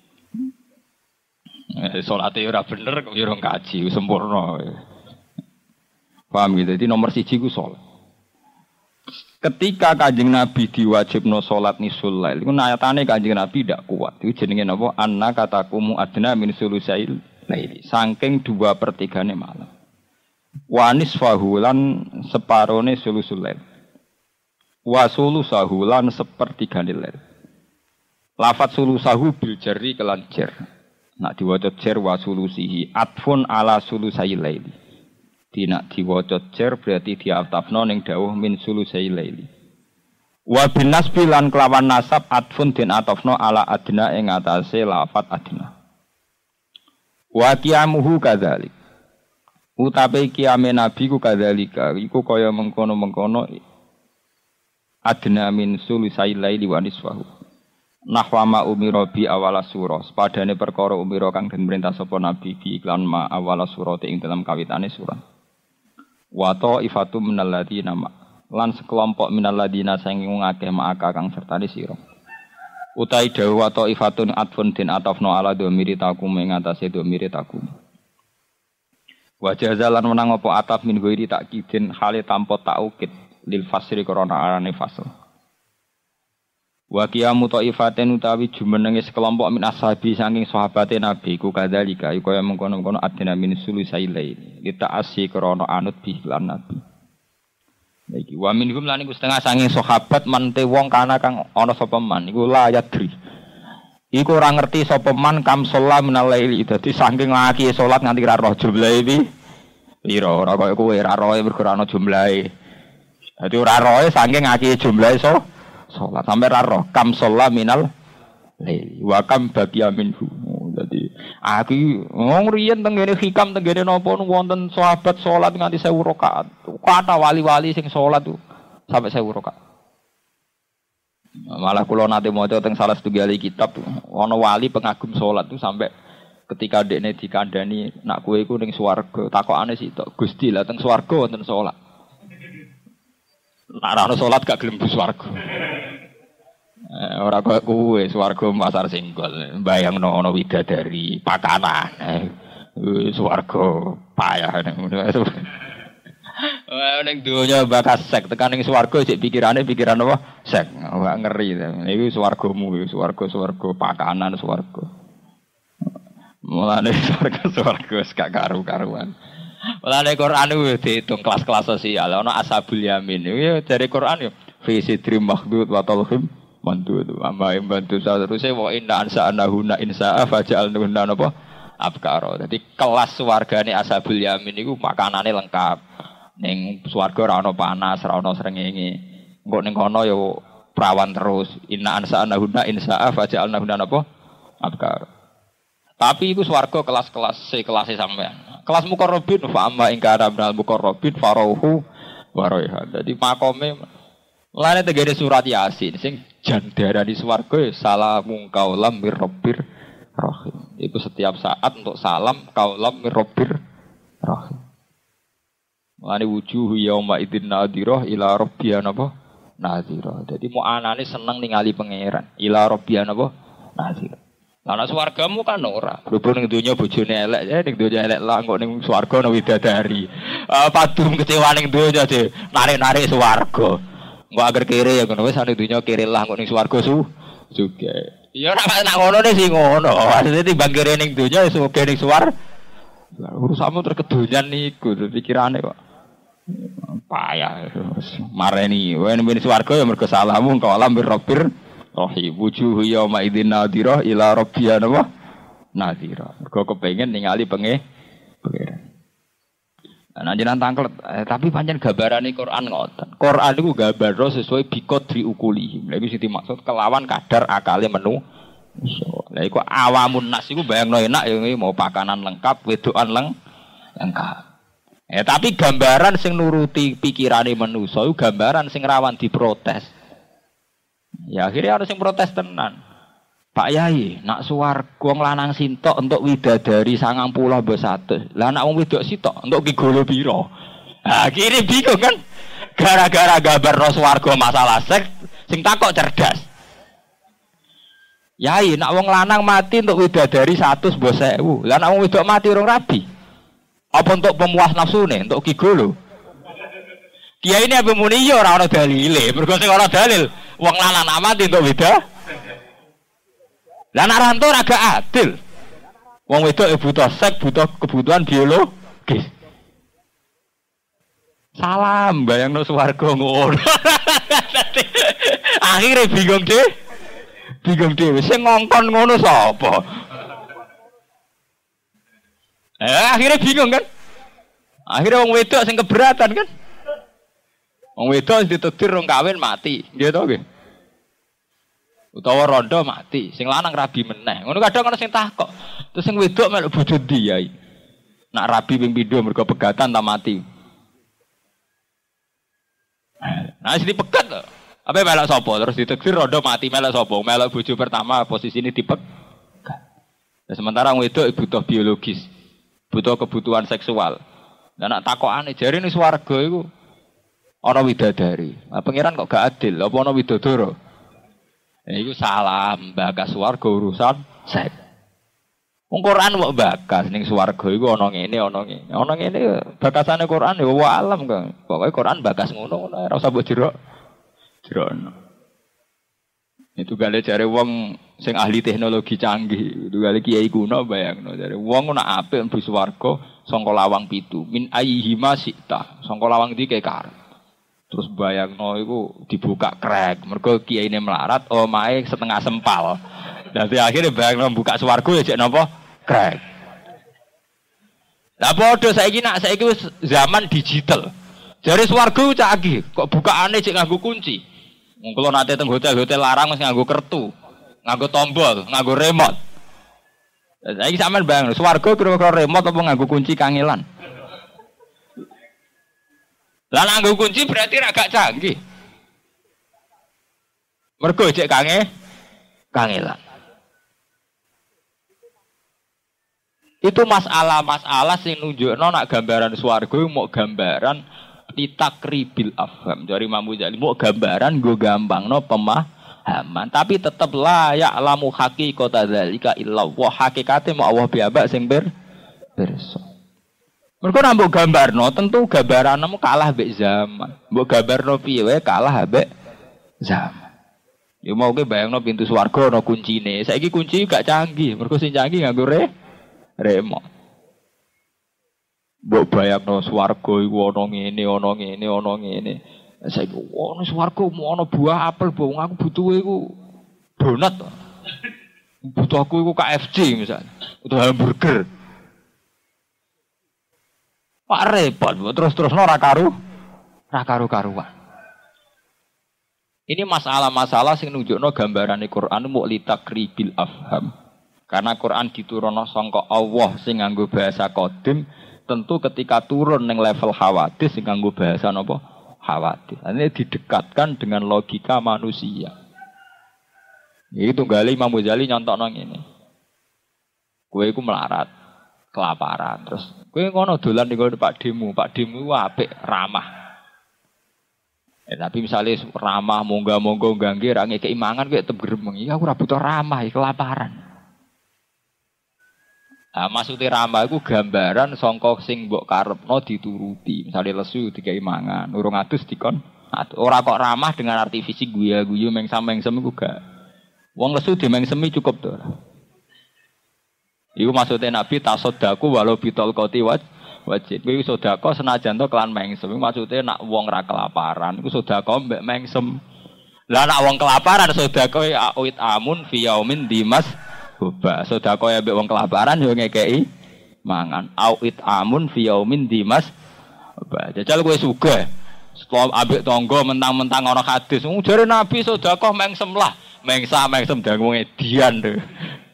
Eh, salate ora bener kok yo kaji sempurna. Paham gitu. Jadi nomor siji ku salat. Ketika Kanjeng Nabi diwajibno salat nisul lail, iku nyatane Kanjeng Nabi ndak kuat. Iku jenenge napa? Anna katakumu adna min sulusail laili. Saking dua per tigane malam. Wa nisfahu lan separone sulusul lail. Wa sulusahu lan sepertigane lail. Lafat sulusahu bil jarri kelan jar. Nak diwaca jar wa sulusihi atfun ala sulusai laili. Dinak diwaca jar berarti diatafno ning dawuh min sulusai laili. Wa bin nasbi lan kelawan nasab atfun den atafno ala adna ing atase lafat adna. Wa qiyamuhu kadzalik. Utape qiyame nabi ku kadzalika iku kaya mengkono-mengkono adna min sulusai laili wa nisfahu. Nahwa ma umira bi awala surah. Sepadane perkara umira kang den perintah sapa nabi bi iklan ma awala surah ing dalam kawitane surah. Wa ta'ifatu minal ladina ma lan sekelompok minal ladina sing ngakeh maka kang sertane sira. Utai dawu wa ta'ifatun atfun din atafno ala dhamiri takum ing atase dhamiri takum. Wa jazalan menang apa ataf min ghairi takkidin hale tanpa taukid lil fasri krana arane fasl. Wa qiyamu ta'ifatin utawi jumenenge sekelompok min ashabi saking sahabate Nabi ku kadzalika kaya mengkono-kono adina min sulusailain kita asy krana anut bi lan Nabi. Iki wa minhum lan iku setengah saking sahabat mante wong kana kang ana sapa man iku la yadri. Iku ora ngerti sapa man kam sholat minal laili dadi saking laki salat nganti ra roh jumlahe iki pira ora kaya kowe ra roe mergo ana jumlahe. Dadi ora roe saking ngaki jumlahe so salat sampe ra roh kam sholat minal laili wa kam baqiya minhu. Dadi aku wong riyen teng ngene hikam teng ngene napa wonten sahabat salat nganti seribu rakaat. Kata wali-wali sing salat tuh sampai seribu rakaat. Malah kula nate maca teng salah setunggal kitab ana wali pengagum salat tuh sampai ketika dekne dikandani nak kowe iku ning swarga takokane sitok Gusti lah teng swarga wonten salat. Nek ora ana salat gak gelem mlebu swarga. Eh, ora kok kuwe swarga pasar singgol bayangno ana widadari pakanan eh, swarga payah ngono ning donya bakas sek tekan ning swarga cek pikirane pikiran apa sek wah ngeri iki swargamu iki swarga-swarga pakanan swarga mulane swarga-swarga gak karu-karuan mulane Quran itu diitung kelas-kelas sosial ana ashabul yamin iki dari Quran yo fi sidri makhdud wa talhim mantu itu amma bantu terusé wa inna ansa'nahuna insa'a faja'alnahunna napa abkara. Dadi kelas swargane ashabul yamin iku makanane lengkap. Ning swarga ora ana panas, ora ana srengenge. Engko ning kono ya prawan terus. Inna ansa'nahunna insa'a faja'alnahunna napa abkara. Tapi iku swarga kelas-kelas se-kelase sampean. Kelas muqarrabin fa amma ing kana minal muqarrabin farauhu wa raihan. Dadi makome lane tegere surat Yasin sing jandara di swarga salamun qaulam mir rabbir rahim. Itu setiap saat untuk salam qaulam mir rabbir rahim. Lane wujuh yauma idzin nadhirah ila rabbiya napa nadhirah. Dadi mu anane seneng ningali pangeran ila rabbiya napa nadhirah. Lah nek swargamu kan ora. Berhubung ning donya bojone elek, ya ning donya elek lah kok ning swarga ana widadari. Ah padum kecewa ning donya de narik-narik swarga. Engko agar kere ya ngono wis ane dunya kere lah kok ning swarga su juga. Ya ora nak ngono nih sing ngono. Maksudnya timbang kere ning dunya wis oke ning swar. Urusanmu terkedonyan niku pikirane kok. Payah. Mareni wen ning swarga ya mergo salahmu kok alam birrabbir rahim. Wujuh yauma idzin nadhirah ila rabbiya nadhirah. Mergo kepengin ningali penge pangeran. Nah, jenengan tangklet, eh, tapi pancen gambarane Quran ngoten. Quran iku gambar sesuai biqadri ukuli. Lha iki sing dimaksud kelawan kadar akale menu. Lah iku awamun nas iku bayangno enak ya mau pakanan lengkap, wedokan leng lengkap. Eh tapi gambaran sing nuruti pikirane manusa iku gambaran sing rawan diprotes. Ya akhirnya harus sing protes tenan. Pak Yai, nak suwarga wong lanang sintok untuk widadari sangang puluh mbok satu. Lah nak wong wedok sitok untuk ki golo pira? Ha kiri bingung kan? Gara-gara gambar ro swarga masalah seks sing takok cerdas. Yai, nak wong lanang mati untuk widadari satu mbok sewu. Lah nak wong wedok mati urung rabi. Apa untuk pemuas nafsune, untuk ki golo? Kiai ini apa muni yo ora ana dalile, mergo sing ora dalil wong lanang mati untuk widadari. Lah nek ranto ora gak adil. Wong wedok e butuh seks, butuh kebutuhan biologis. Salam bayangno swarga ngono. Akhire bingung dhewe. Bingung dhewe sing ngongkon ngono sapa? Eh akhire bingung kan? Akhire wong wedok sing keberatan kan? Wong wedok ditetir rong kawin mati, nggih to nggih. Utawa rondo mati, sing lanang rabi meneh. Ngono kadang ana sing takok. Terus sing wedok melok bojo ndi yai? Nak rabi ping pindho mergo pegatan ta mati. Nah, sing dipegat lho. Apa melok sapa terus diteksir rondo mati melok sapa? Melok bojo pertama posisi ini dipek. Nah, sementara wong wedok butuh biologis, butuh kebutuhan seksual. Lah nak takokane jare ning swarga iku ana widadari. Nah, pangeran kok gak adil, apa ana widodara? Ya iku salah, bakas swarga urusan seks. Wong Quran kok bakas ning swarga iku ana ngene ana ngene. Ana ngene bakasane Quran ya wa alam kok. Pokoke Quran bakas ngono-ngono ora usah mbok jerok. Jerokno. Itu gale jare wong sing ahli teknologi canggih, itu gale kiai kuno bayangno jare wong nak apik mlebu swarga saka lawang pitu. Min ayyihima sita. Saka lawang iki kekar. Terus bayangno iku dibuka krek. Mergo kiyaine melarat, omahe setengah sempal. Dadi akhirnya bayangno buka swarga ya jek napa? Krek. Lah padha saiki nak saiki wis zaman digital. Jare swarga canggih, kok bukaane cek nganggo kunci. Wong kula nate teng hotel-hotel larang wis nganggo kertu, nganggo tombol, nganggo remote. Lah saiki sampean bayangno swarga kira-kira remote apa nganggo kunci kangelan. Lah nganggo kunci berarti ra gak canggih. Mergo cek kange kangelan. Itu masalah-masalah sing nunjukno nak gambaran swarga mau gambaran litakribil afham. Dari Imam Ghazali mau gambaran go gampangno pemahaman, tapi tetep la ya'lamu haqiqata dzalika illa wa hakikate mau Allah piyambak sing ber pirsa. Mergo nek mbok gambarno tentu gambaranmu kalah mbek zaman. Mbok gambarno piye wae kalah mbek zaman. Ya mau ke bayangno pintu swarga ana kuncine. Saiki kunci gak canggih, mergo sing canggih nganggo re remote. Mbok bayangno swarga iku ana ngene, ana ngene, ana ngene. Saiki ono swarga ono buah apel, bong aku butuh iku donat. Butuh aku iku K F C misalnya, butuh hamburger. Pak repot, terus-terus ora karu, ora karu-karuan. Ini masalah-masalah sing nunjukno gambarane Quran mu litakribil afham. Karena Quran diturunno sangka Allah sing nganggo bahasa qadim, tentu ketika turun ning level hawadis sing nganggo bahasa napa? Hawadis. Ini didekatkan dengan logika manusia. Itu gali Imam Ghazali nyontokno ngene. Kowe iku melarat, kelaparan, terus kowe ngono dolan ning Pak Demu, Pak Demu ku apik, ramah. Eh, tapi misalnya ramah, monggo-monggo gangge ra ngekeki mangan kowe tetep gremeng. Iya aku ora butuh ramah, kelaparan. Nah, maksudnya ramah itu gambaran songkok sing mbok karepno dituruti. Misalnya lesu dikai mangan, urung atus dikon. Ora kok ramah dengan arti fisik guya-guyu mengsam-mengsem iku gak. Wong lesu dimengsemi cukup to. Iku maksudnya Nabi tasodaku walau bitol koti wajib. Kowe sedekah senajan to kelan mengsem. Maksudnya nak wong ra kelaparan iku sedekah mbek mengsem. Lah nak wong kelaparan sedekah awit amun fi yaumin dimas Boba, sedekah ya mbek wong kelaparan yo ngekeki mangan. Awit amun fi yaumin dimas. Boba. Jajal kowe sugih. Setelah ambek tangga mentang-mentang ana hadis. Jare Nabi sedekah mengsem lah. Mengsa mengsem dangu edian to.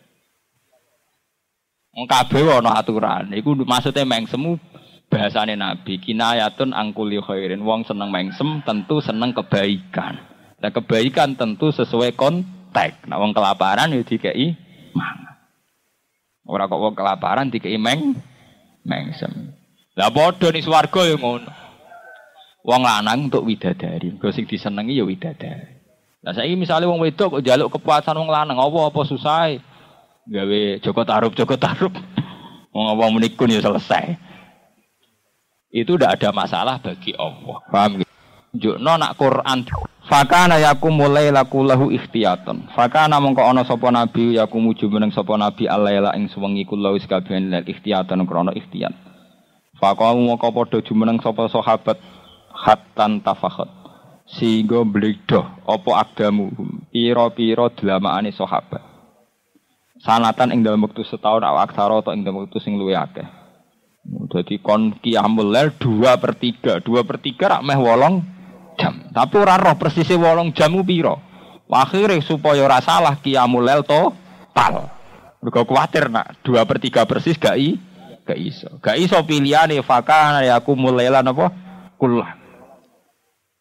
Wong kabeh ana aturan. Iku maksudnya mengsemu bahasane Nabi. Kinayatun angkuli khairin. Wong seneng mengsem tentu seneng kebaikan. Nah kebaikan tentu sesuai konteks. Nah wong kelaparan yo dikeki mangan. Ora kok wong kelaparan dikeki meng mengsem. Lah padha ning swarga ya ngono. Wong lanang untuk widadari, kok sing disenengi ya widadari. Lah saiki misale wong wedok kok njaluk kepuasan wong lanang, apa-apa susah. Gawe Joko Tarub, Joko Tarub. Wong wong menikun ya selesai. Itu tidak ada masalah bagi Allah. Paham gitu? Njukno nak Quran fakana yakumul lailaku lahu ikhtiyatan. Fakana mongko ana sapa nabi yakumu jumeneng sapa nabi alaila ing suwengi kula wis kabeh lek ikhtiyatan krana ikhtiyat. Fakamu mongko padha jumeneng sapa sahabat hatan tafakhat. Sehingga bledoh apa agdamu pira-pira dlamane sahabat. Sanatan ing dalam wektu setahun awak aksara atau ing dalam wektu sing luwih akeh. Dadi kon qiyamul lail dua per tiga, dua per tiga rak meh wolong jam. Tapi ora roh persise wolong jam ku pira. Akhire supaya ora salah qiyamul lail total. Mergo kuwatir nak dua per tiga persis gak i, gak iso. Gak iso pilihane fakana yakumul lailan apa? Kullah.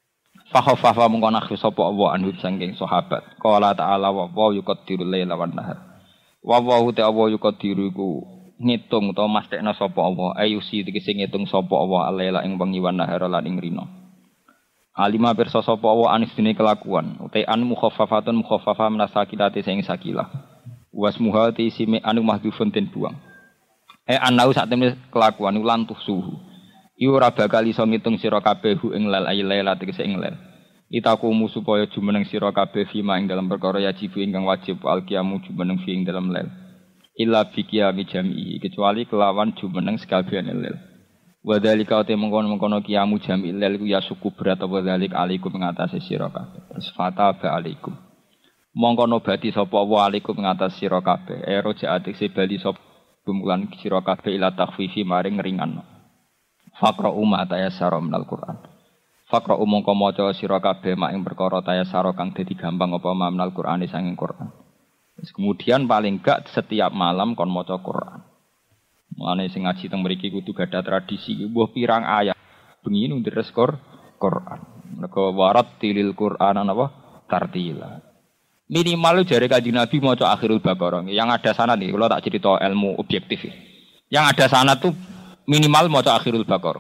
Fa khaffafa mongko nakhfi sapa Allah anhu saking sahabat. Qala ta'ala wa wa yuqaddiru laila wan nahar. Wa wa ta Allah yuqaddiru iku ngitung utawa mastekna sapa Allah. Ayusi tegese ngitung sapa Allah laila ing wengi wan nahar lan ing rina. Alima pirsa sapa Allah anis dene kelakuan. Utai an mukhaffafatun mukhaffafa minasakilati sing sakilah. Wasmuha ti simi anu mahdhufun den buang. Eh anau sak temene kelakuan ulan suhu. Iku ora bakal iso ngitung sira kabeh ing lal aylaila tegese ing lal. Itakumu supaya jumeneng sira kabeh fima ing dalam perkara yajib ingkang wajib alqiyamu jumeneng fi ing dalam lal. Illa bi qiyami jam'i kecuali kelawan jumeneng sekabehane lal. Wa dzalika te mengkono-mengkono qiyamu jam'i lal iku ya suku berat apa dzalik alaikum ngatasi sira kabeh. Terus fata ba alaikum. Mongko nobati sapa wa alaikum ngatas sira kabeh ero jaatik se bali sapa bumulan sira kabeh ila takhfifi maring ngringan faqra umma tayassara minal Qur'an faqra mongko maca sira kabeh mak ing perkara tayassara kang dadi gampang apa minal Qur'an sanging Qur'an. Terus kemudian paling gak setiap malam kon maca Qur'an. Mulane sing ngaji teng mriki kudu gadah tradisi mbuh pirang ayat bengi ndres Qur'an. Mergo warat tilil Qur'an napa tartila. Minimal jare Kanjeng Nabi maca akhirul Baqarah. Yang ada sanad nih, kalau tak cerita ilmu objektif. Yang ada sanad tuh minimal maca akhirul Baqarah.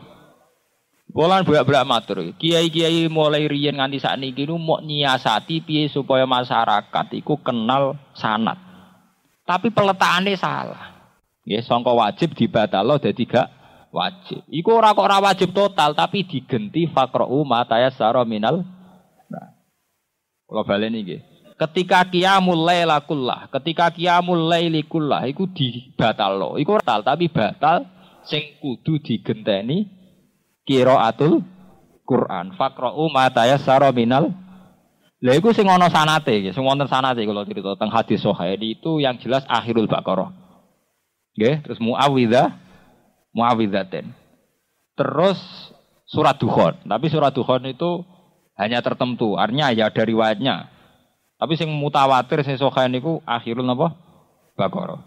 Bolan bolak-balik matur. Kiai-kiai mulai riyen nganti sakniki niku mok nyiasati piye supaya masyarakat iku kenal sanad. Tapi peletakane salah. Nggih, sangka wajib dibatalo dadi gak wajib. Iku ora kok ora wajib total tapi digenti faqra'u ma tayassara minal. Nah. Kula baleni nggih. Ketika qiyamul laila kullah, ketika qiyamul laili kullah iku dibatalno. Iku batal tapi batal sing kudu digenteni qiraatul Quran. Faqra'u ma tayassara minal. Lha iku sing ana sanate nggih, sing wonten sanate kula crita teng hadis sahih itu yang jelas akhirul Baqarah. Nggih, terus muawwidzah muawwidzaten. Terus surat Dukhan, tapi surat Dukhan itu hanya tertentu, artinya ya ada riwayatnya. Tapi sing mutawatir sing sahih niku akhirul napa? Baqarah.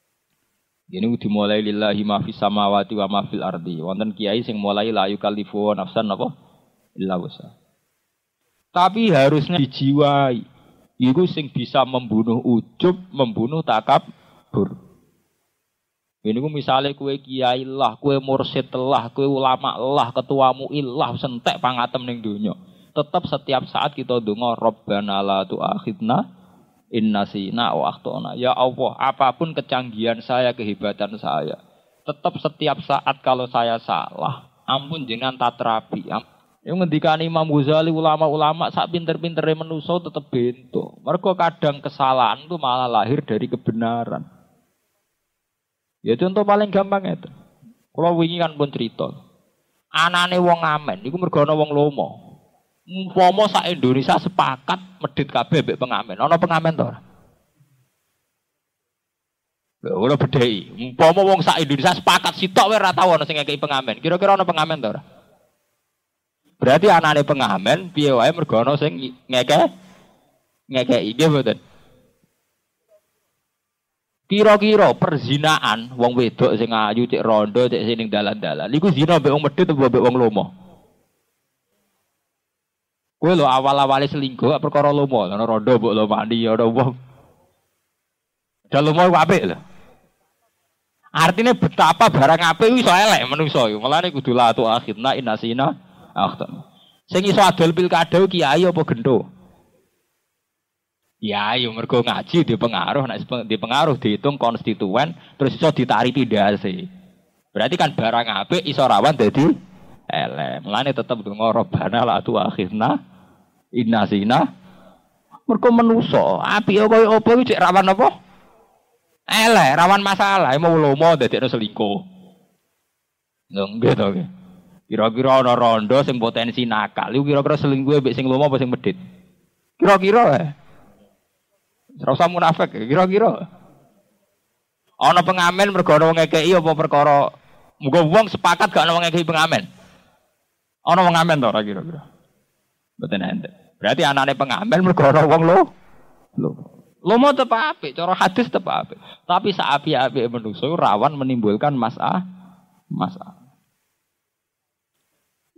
Ini dimulai lillahi ma fis samawati wa ma fil ardi. Wonten kiai sing mulai la yukallifu nafsan napa? Illa wusa. Tapi harusnya dijiwai. Iku sing bisa membunuh ujub, membunuh takabur. Ini ku misalnya kue kiai lah, kue mursyid lah, kue ulama lah, ketuamu ilah sentek pangatem ning donya. Tetap setiap saat kita donga Rabbana la tu'akhidna in nasina wa akhtana. Ya Allah, apapun kecanggihan saya, kehebatan saya, tetap setiap saat kalau saya salah, ampun jenengan tatrapi. Yang ngendikane Imam Ghazali ulama-ulama sak pinter-pintere manusa tetep bento. Mergo kadang kesalahan itu malah lahir dari kebenaran. Ya contoh paling gampang itu. Kalau wingi kan pun cerita. Anane wong ngamen iku mergo ana wong lomo. Umpama sak Indonesia sepakat medhit kabeh mbek pengamen. Ana pengamen to ora? Lha ora bedhei. Umpama wong sak Indonesia sepakat sitok wae ora tau ana sing ngekeki pengamen. Kira-kira ana pengamen to ora? Berarti anane pengamen piye wae mergo ana sing ngeke ngekeki nggih mboten. Kira-kira perzinaan wong wedok sing ayu cek rondo cek sing ning dalan-dalan iku zina mbek wong medhit apa mbek wong lomo? Kowe lho awal-awale selingkuh perkara lomo, ana rondo mbok lomani ya ora wong. Dal lomo apik lho. Artinya betapa barang apik iso elek menungso iku. Mulane kudu la tu akhirna inasina akhtan. Sing iso adol pilkada kiai apa gento? Ya, yo mergo ngaji di pengaruh, nek di pengaruh dihitung konstituen terus iso ditarik pindhase. Berarti kan barang apik iso rawan dadi elek. Mulane tetep donga Rabbana la tu akhirna innasina. Mergo menungso, apik koyo apa iki cek rawan apa? Elek, rawan masalah, mau lomo dadekno selingkuh. Nggih to nggih. Kira-kira ana rondo sing potensi nakal, iku kira-kira selingkuh mbek sing lomo apa sing medhit? Kira-kira eh. Ora usah munafik, kira-kira. Ana pengamen mergo ana wong ngekeki apa perkara muga wong sepakat gak ana wong ngekeki pengamen. Ana wong ngamen to ora kira-kira. Mboten enten. Berarti anane pengamen mergo ana wong lo. Lho. Lomo tetep apik, cara hadis tetep apik. Tapi sak apik-apik manusa rawan menimbulkan masalah. Masalah.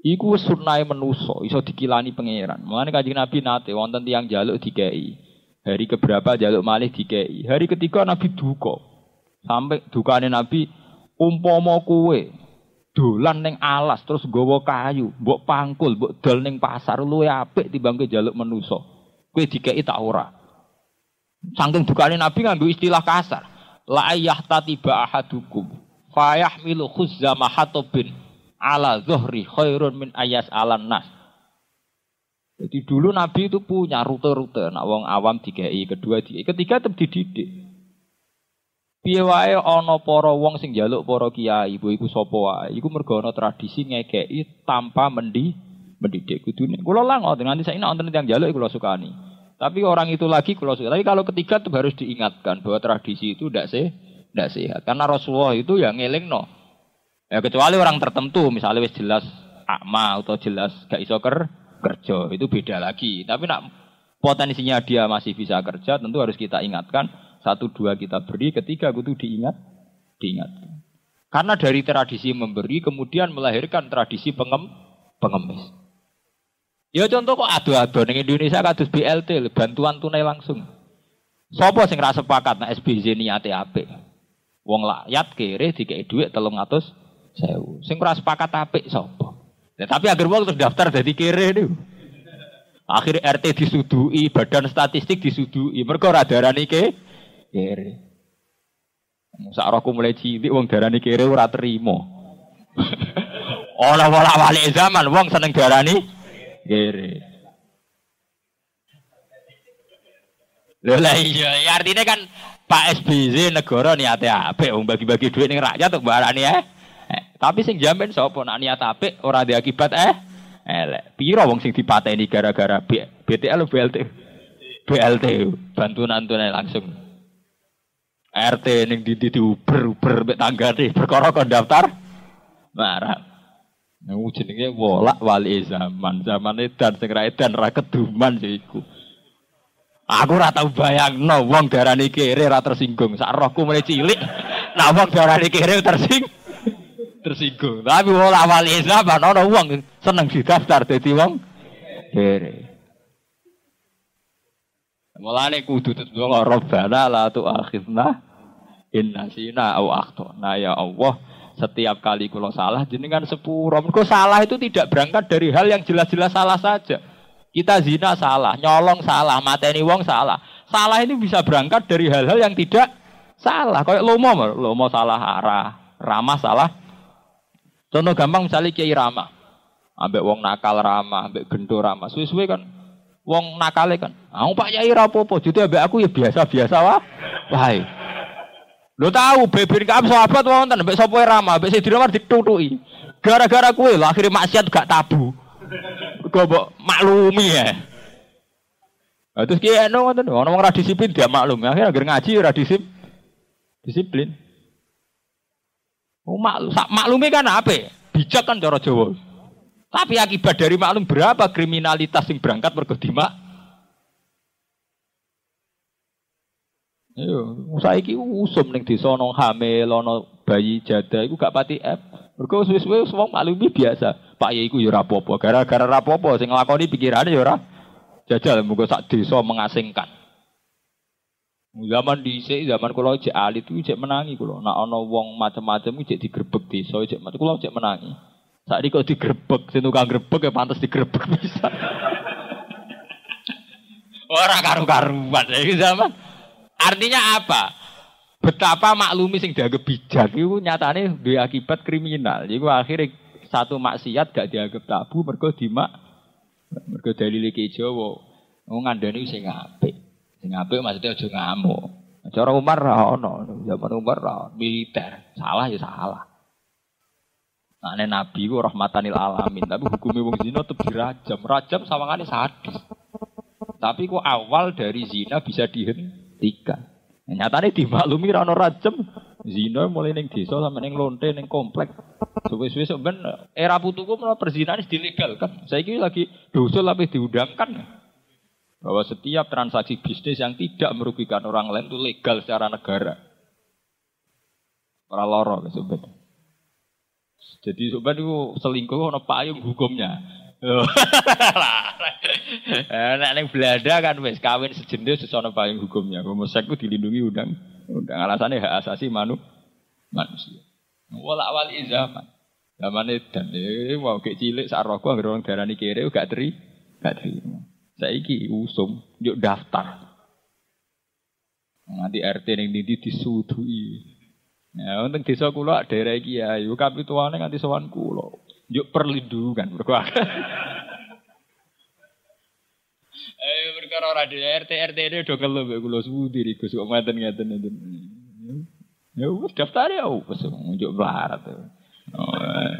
Iku wis sunnahe manusa, iso dikilani pangeran. Mulane Kanjeng Nabi nate wonten tiyang njaluk dikei. Hari keberapa njaluk malih dikei. Hari ketiga Nabi duka. Sampai dukane Nabi umpama kowe dolan ning alas terus nggawa kayu, mbok pangkul, mbok dol ning pasar luwe apik timbang kowe njaluk manusa. Kowe dikei tak ora. Saking dukane Nabi nganggo istilah kasar. La yahtatiba ahadukum fayahmilu khuzzama hatobin ala zuhri khairun min ayas alan nas. Jadi dulu Nabi itu punya rute-rute, nak wong awam dikei, kedua dikei, ketiga tetep dididik. Piye wae ana para wong sing njaluk para kiai, ibu iku sapa wae, iku mergo ana tradisi ngekeki tanpa mendi mendidik kudune. Kula lah ngoten nganti saiki nek wonten tiyang njaluk kula sukani. Tapi orang itu lagi kula suka. Tapi kalau ketiga itu harus diingatkan bahwa tradisi itu ndak sih, ndak sehat. Karena Rasulullah itu yang ngelingno. Ya kecuali orang tertentu, misalnya wis jelas akma atau jelas gak iso ker, kerja, itu beda lagi. Tapi nak potensinya dia masih bisa kerja, tentu harus kita ingatkan. Satu dua kita beri, ketiga itu diingat, diingatkan. Karena dari tradisi memberi kemudian melahirkan tradisi pengem, pengemis. Ya contoh kok ado-ado ning Indonesia kados B L T, bantuan tunai langsung. Sopo sing ra sepakat nek S B Z niate apik. Wong rakyat kere dikei dhuwit telung atus sewu. Sing ora sepakat apik sapa? Ya, tapi agar wong terus daftar dadi kere niku. Akhir R T disudui, badan statistik disudui, mergo ora darani ke kere. Sak rohku mulai cilik wong darani kere ora trimo. Ora wala wali zaman wong seneng darani kere. Lha iya, ya artinya kan Pak S B Y negara niate apik wong bagi-bagi duit ning rakyat kok barani eh. eh. Tapi sing jamin sapa nek niat apik ora ada akibat eh. Elek. Piro wong sing dipateni gara-gara B T L B L T. B L T bantuan tunai langsung. R T ning di diuber-uber mek tanggane perkara kon daftar marah. Nang jenenge wolak wali zaman, zaman edan sing ra edan ra keduman iku. Aku ora tau bayangno wong darani kere ra tersinggung. Sak rohku mulai cilik, nek wong darani kere tersing tersinggung. Tapi wolak wali zaman ana wong seneng didaftar dadi wong kere. Mulane kudu tetep Rabbana la tu'akhidna in nasina aw akhtana ya Allah. Setiap kali kula salah jenengan sepuro. Mergo salah itu tidak berangkat dari hal yang jelas-jelas salah saja. Kita zina salah, nyolong salah, mateni wong salah. Salah ini bisa berangkat dari hal-hal yang tidak salah. Kayak lomo, lomo salah arah, ramah salah. Contoh gampang misalnya Kiai Ramah. Ambek wong nakal ramah, ambek gendo ramah. Suwe-suwe kan wong nakale kan. Aku Pak Yai ra apa-apa, jute ambek aku ya biasa-biasa wae. Wae. Lho tahu beber kaam sahabat wonten ambek sapa ramah, ambek sing diramar ditutuki. Gara-gara kowe lho akhire maksiat gak tabu. Kok mbok maklumi ya. Lah terus ki eno ngoten, ono wong ra disiplin dia maklum. Akhire agar ngaji ora disip disiplin. Oh mak maklumi kan apik. Bijak kan cara Jawa. Tapi akibat dari maklum berapa kriminalitas yang berangkat mergo dimak. Yo, saiki usum ning desa ana hamil, ana bayi jada iku gak pati F. Mergo suwe-suwe wong maklumi biasa. Pak Yai iku ya ora apa-apa, gara-gara ora apa-apa sing nglakoni pikirane ya ora jajal muga sak desa mengasingkan. Zaman dhisik, zaman kula jek alit iku jek menangi kula. Nek ana wong macam-macam iku jek digrebeg desa jek kula jek menangi. Saat ini kok digrebek, sing tukang grebek ya pantes digrebek bisa. Orang karu-karuan iki zaman. Artinya apa? Betapa maklumi sing dianggap bijak itu nyatane duwe akibat kriminal. Iku akhirnya satu maksiat gak dianggap tabu mergo dimak mergo dalile ki Jawa. Wong ngandani sing apik. Sing apik maksudnya aja ngamuk. Cara Umar ra ono, zaman Umar ra militer. Salah ya salah. Nah, Nabi ku rahmatanil alamin, tapi hukumnya wong zina tetep dirajam. Rajam sawangane sadis. Tapi kok awal dari zina bisa dihentikan. Nah, nyatane dimaklumi ra ono rajam. Zina mulai ning desa sampe ning lonte ning komplek. Suwe-suwe sok ben era putuku menawa perzinahan dilegalkan. Saiki lagi dosa tapi diundangkan. Bahwa setiap transaksi bisnis yang tidak merugikan orang lain itu legal secara negara. Ora lara sebenarnya. Jadi sobat itu selingkuh ono payung hukumnya. Eh nek ning Belanda kan wis kawin sejenis wis ono payung hukumnya. Homoseks ku dilindungi undang undang alasane hak asasi manu manusia. Wala wali zaman. Zamane dan eh mau kek cilik sak rokok anggere wong darani kere gak teri, gak terima. Saiki usum yuk daftar. Nanti R T ning ndi disudui. Ya wonten desa kula daerah iki ya, yo kapituane nganti sowan kula. Yuk perlindungan mergo. Eh perkara ora di R T R T ini do kelo mbek kula suwudi iki Gus kok ngaten-ngaten ngeten. Ya wis daftar ya wis njuk barat. Oh.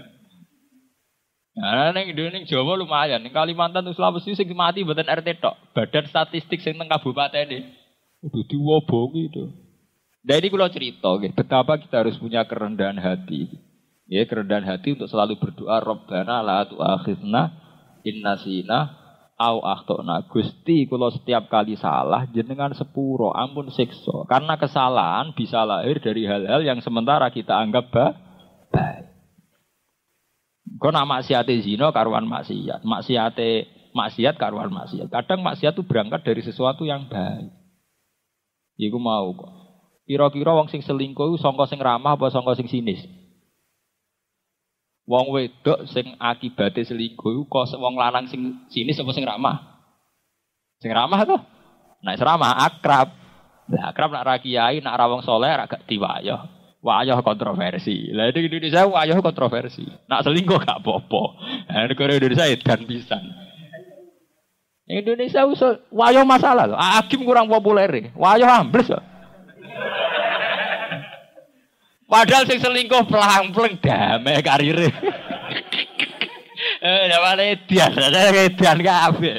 Nah, ning ning Jawa lumayan, ning Kalimantan terus Sulawesi sing mati mboten R T tok. Badan statistik sing teng kabupaten iki. Udah diwobongi itu. Dari kula cerita nggih, betapa kita harus punya kerendahan hati. Ya, kerendahan hati untuk selalu berdoa Rabbana la tu'akhidna in nasina au akhtana. Gusti kula setiap kali salah jenengan sepuro, ampun siksa. Karena kesalahan bisa lahir dari hal-hal yang sementara kita anggap baik. Kok nak maksiate zina karuan maksiat, maksiate maksiat karuan maksiat. Kadang maksiat itu berangkat dari sesuatu yang baik. Iku mau kok. Kira-kira wong sing selingkuh iku sangka sing ramah apa sangka sing sinis? Wong wedok sing akibate selingkuh iku kok wong lanang sing sinis apa sing ramah? Sing ramah to? Nek ramah akrab. Lah akrab nak ra kiai, nak ra wong saleh ra gak diwayah. Wayah kontroversi. Lah di Indonesia wayah kontroversi. Nak selingkuh gak apa-apa. Nah, negara Indonesia edan pisan. Indonesia usul wayah masalah loh. Hakim kurang populer. Wayah ambles loh. Padahal sing selingkuh pelang-pelang damai karirnya. Eh, namanya edian, namanya edian kabeh.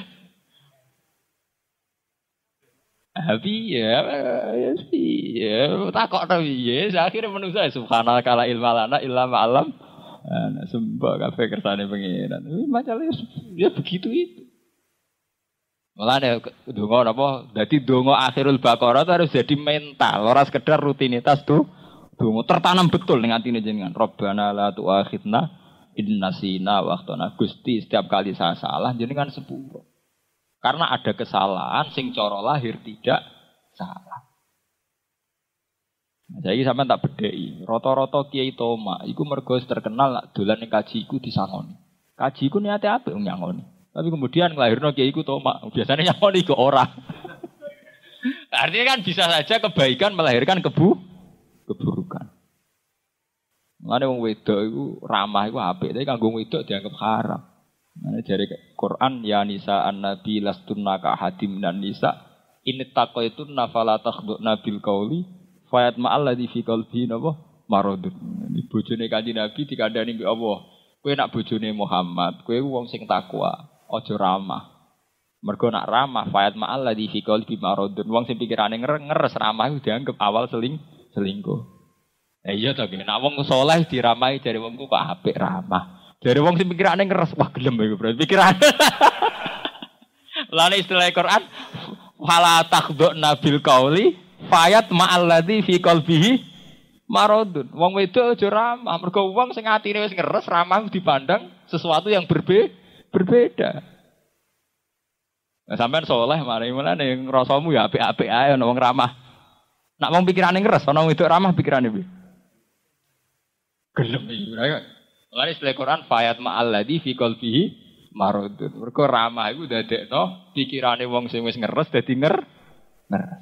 Tapi ya, ya sih, ya takok tapi ya. Akhirnya manusia subhanallah kala ilmalana illa ma'alam. Nah, sembah kabeh kersane pengiran. Masalahnya ya begitu itu. Malah nek donga napa? Dadi donga akhirul baqarah itu harus jadi mental, ora sekedar rutinitas tuh. Donga tertanam betul ning atine jenengan. Rabbana la tu'akhidna in nasina wa akhtana. Gusti setiap kali saya salah jenengan sepuro. Karena ada kesalahan sing cara lahir tidak salah. Nah, saiki sampean tak bedheki. Rata-rata kiai toma iku mergo terkenal lak dolan ning kaji iku disangoni. Kaji iku niate apik nyangoni. Tapi kemudian nglahirno kiai iku toma. Biasanya nyangoni kok ora. Artinya kan bisa saja kebaikan melahirkan kebu keburukan. Mulane wong wedok iku ramah iku apik, tapi kanggo wedok dianggap haram. Nah, dari Quran ya nisa an-nabi lastunna ka hadim dan nisa in taqaitunna fala takhduna bil qauli fayat ma'al ladzi fi qalbi napa maradun. Ini bojone Kanjeng Nabi dikandani mbek Allah. Kowe nak bojone Muhammad, kowe wong sing takwa, aja ramah. Mergo nak ramah fayat ma'al ladzi fi qalbi maradun. Wong sing pikirane ngeres ramah iku dianggap awal seling selingkuh. Eh iya to, nek wong saleh diramahi jare wongku kok apik ramah. Jare wong sing pikirane ngeres, wah gelem iku berarti pikirane. Lan istilah Quran fala takhduna bil qauli fayat ma'al ladzi fi qalbihi maradun. Wong wedok aja ramah, mergo wong sing atine wis ngeres ramah dipandang sesuatu yang berbe berbeda. Nah, sampean saleh mari menane ngrasamu ya apik-apik ae ana wong ramah. Nak wong pikirane ngeres, ana wong wedok ramah pikirane piye? Gelem iki. Lan istilah Quran fayat ma'al ladzi fi qalbihi maradun. Mergo ramah iku dadekno pikirane wong sing wis ngeres dadi nger ngeres.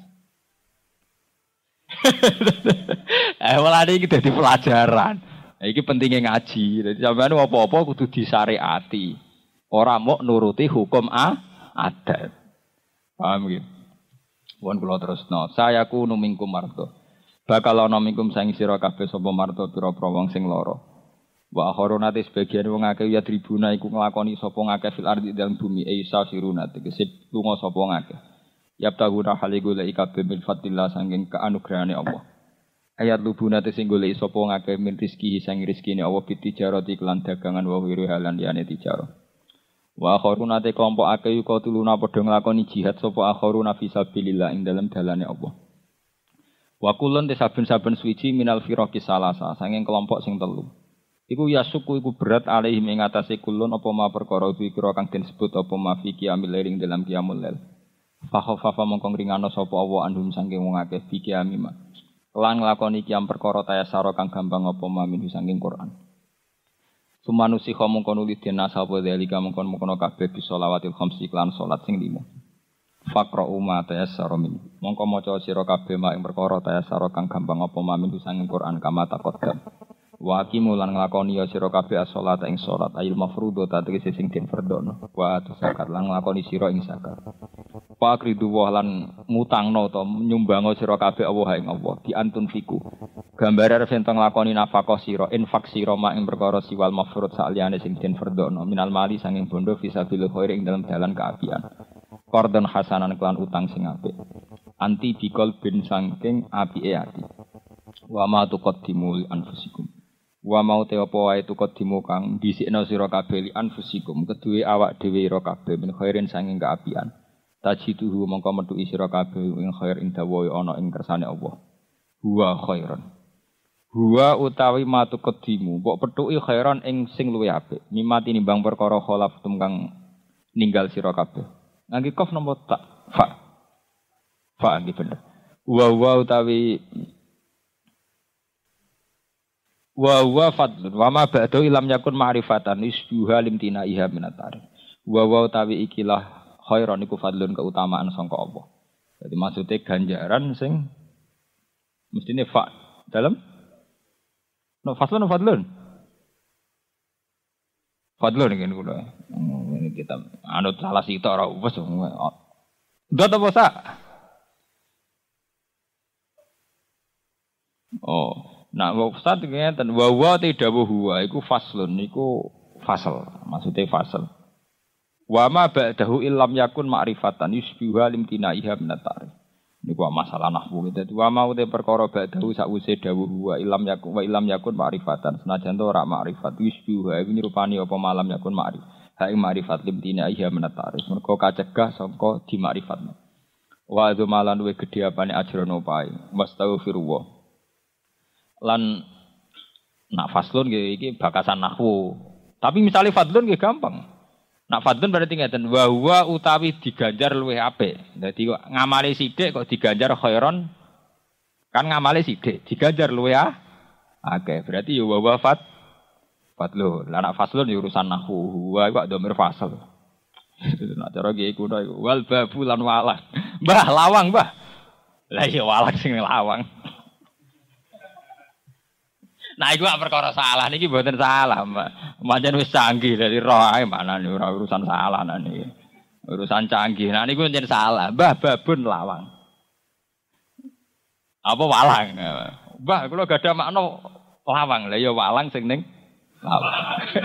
Eh walane iki dadi pelajaran. Iki pentingnya ngaji. Dadi sampeyan apa-apa kudu disyariati. Ora mok nuruti hukum a adat. Paham iki? Wong kula terusno. Sayaku numingkum marto. Bakal ana mingkum saing sira kabeh sapa marto pira-pira wong sing lara. Wa akharunate sebagian wong akeh ya tribuna iku nglakoni sapa ngakeh fil ardi dalem bumi isa siruna tegese lunga sapa ngakeh. Yabtaguna haligu la ikabe bil fadillah sanging kaanugrahane Allah. Ayat lubuna te sing golek sapa ngakeh min rezeki sing rezekine Allah bitijarati kelan dagangan wa wiru halan liyane tijarah. Wa akharunate kelompok akeh yuka tuluna padha nglakoni jihad sapa akharuna fi sabilillah ing dalem dalane Allah. Wa kulun te saben-saben suci minal firaqi salasa sanging kelompok sing telu. Iku ya suku iku berat alaihim ing atase kulun apa ma perkara dikira kang den sebut apa ma fi qiyamil lail dalam qiyamul lail. Fa khafafa mongko ngringano sapa Allah andum saking wong akeh fi qiyamima. Lan nglakoni qiyam perkara tayasara kang gampang apa ma min saking Quran. Sumanusi mongko nuli den sapa dalika mongko mongko kabeh bi sholawatil khamsi lan salat sing lima. Faqra umma tayassara min. Mongko maca sira kabeh mak ing perkara tayassara kang gampang apa ma min saking Quran kama taqaddam. Wa aqimu lan nglakoni ya sira kabeh as-shalat ing salat ayil mafruḍo ta tegese sing den fardhono wa zakat lan nglakoni sira ing zakat. Wa akridu wa lan mutangno ta nyumbango sira kabeh Allah ing Allah di antun fiku. Gambare arep enten nglakoni nafaqah sira infak sira mak ing perkara siwal mafruḍ saliyane sing den fardhono minal mali sanging bondo fisabilillah khair ing dalam dalan kaapian. Qardon hasanan kelan utang sing apik. Anti bikol bin sangking apike ati. Wa ma tuqaddimu li anfusikum. Wa mau te apa wae tuqaddimu kang dhisikna sira kabeh li anfusikum keduwe awak dhewe ira kabeh min khairin sanging kaapian. Tajiduhu mongko metuki sira kabeh ing khair ing dawa ana ing kersane Allah. Huwa khairan. Huwa utawi ma tuqaddimu mbok petuki khairan ing sing luwih apik. Mimati nimbang perkara khalaf kang ninggal sira kabeh. Ngangge kof nomor tak fa. Fa nggih bener. Wa wa utawi wa wa fadlun wa ma ba'du ilam yakun ma'rifatan isbuha limtina iha minatari wa wa tawi ikilah khairan iku fadlun keutamaan sangka Allah. Jadi maksudnya ganjaran sing mestine fa dalam no fadlun no fadlun fadlun ngene kula ini kita anut salah sitok ora wis ndak apa sak oh. Nah, Ustaz ngeten wa wa tidawu huwa iku faslun niku fasal, maksudnya fasal. Wa ma ba'dahu illam yakun ma'rifatan yusbiha limtinaiha min at-ta'rif. Niku masalah nahwu gitu. Wa ma uta perkara ba'dahu sakwise dawuh huwa illam yakun wa illam yakun ma'rifatan. Senajan to ora ma'rifat yusbiha iku nirupani apa malam yakun ma'rif. Ha ing ma'rifat limtinaiha min at-ta'rif. Mergo kacegah sangka di ma'rifatna. Wa dzumalan we gedhe apane ajrono pae. Wastaghfirullah. Lan nak faslun nggih iki bakasan nahwu. Tapi misalnya fadlun nggih gampang. Nak fadlun berarti ngeten wa huwa utawi diganjar luwih apik. Dadi kok ngamali sithik kok diganjar khairon kan ngamali sithik diganjar luwih ah. Oke, berarti ya wa huwa fad fadlun. Lah nak faslun ya urusan nahwu. Wa kok dhamir fasal. Nak cara nggih kuno iku wal babu lan walang. Mbah lawang, Mbah. Lah ya walang sing lawang. Nah, iku perkara salah niki mboten salah, Mbak. Pancen wis canggih dari roh ae mana nih ora urusan salah niki. Urusan canggih. Nah niku pancen salah. Mbah babun lawang. Apa walang? Mbah kula gadah makna lawang. Lah ya walang sing ning lawang.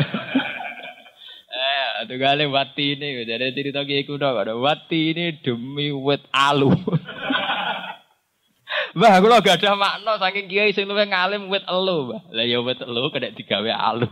Eh, tunggale wati ini jadi cerita ki iku tok. Wati ini demi wit alu. Mbah kula gak ada makna saking kiai sing luwih ngalim wit elu, Mbah. Lah ya wit elu kena digawe alu.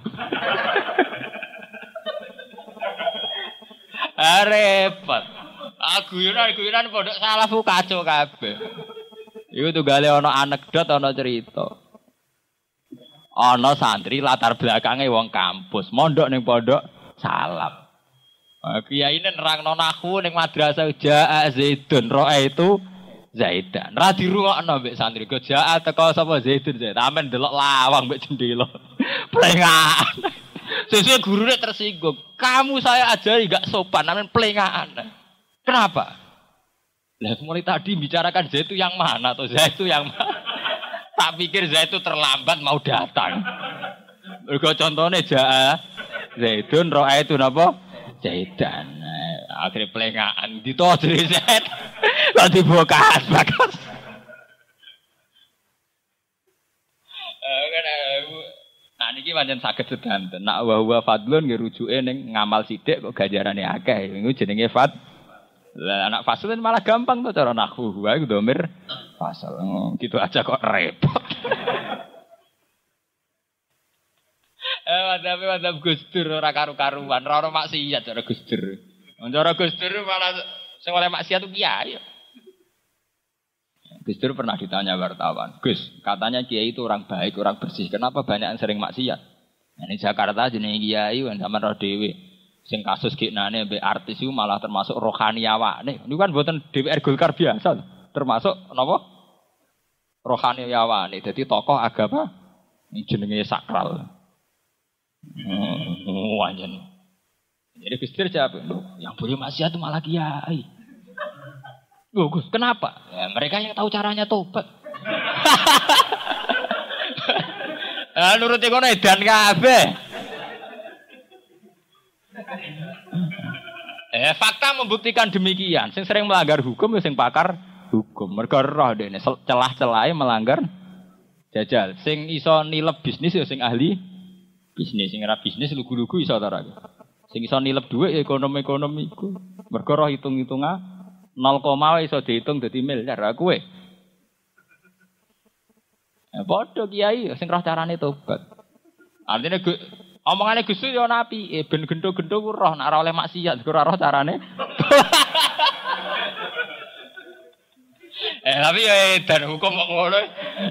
Ah repot. Aku guyon-guyonan pondok salaf ku kacau kabeh. Iku tunggale ana anekdot ana cerita. Ana santri latar belakange wong kampus, mondok ning pondok salaf. Kiai ini nerangno nahwu ning madrasah Ja'a Zaidun roe itu Zaidan. Ra dirungokno mbek santri. Go jaat teko sapa Zaidun Zaid. Amen delok lawang mbek jendela. Plengaan. Sesuk gurune tersinggung. Kamu saya ajari enggak sopan, amen plengaan. Kenapa? Lah mulai tadi bicarakan Zaid itu yang mana atau Zaid itu yang mana? Tak pikir Zaid itu terlambat mau datang. Mergo contone jaa Zaidun roa itu napa? Zaidan. Akhirnya pelengaan ditodri Zaid. Kok dibukas bakas. Nah niki pancen saged sedanten. Nak wa huwa fadlun nggih rujuke ning ngamal sithik kok ganjarane akeh. Iku jenenge fad. Lah anak faslun malah gampang to cara nahwu. Wa iku dhamir fasal. Gitu aja kok repot. Eh wadhape wadhap Gus Dur ora karu-karuan, ora ono maksiat cara Gus Dur. Cara Gus Dur malah sing oleh maksiat ku kiai. Gus Dur pernah ditanya wartawan, Gus, katanya kiai itu orang baik, orang bersih. Kenapa banyak yang sering maksiat? Ini Jakarta jenenge kiai kan sampean roh dhewe. Sing kasus kiknane mbek artis iku malah termasuk rohani awane. Niku kan mboten D P R Golkar biasa, termasuk napa? Rohani awane. Dadi tokoh agama jenenge sakral. Hmm, wajan. Jadi Gus Dur jawab, yang boleh maksiat itu malah kiai. Loh Gus, kenapa? Ya, mereka yang tahu caranya tobat. Ah, nuruti kono edan kabeh. Eh, fakta membuktikan demikian. Sing sering melanggar hukum ya sing pakar hukum. Mergo roh dene celah-celahe melanggar jajal. Sing iso nilep bisnis ya sing ahli bisnis. Sing ora bisnis lugu-lugu iso ta ora. Sing iso nilep dhuwit ya ekonomi-ekonomi iku. Mergo roh hitung-hitungan nol koma iso dihitung dadi miliar. Lah kowe ya padha kiai sing roh carane tobat. Artine omongane Gus yo napi, eh ben gendho-gendho ku roh nek ora oleh maksiat, ora roh carane. eh tapi ya dan hukum kok ngono.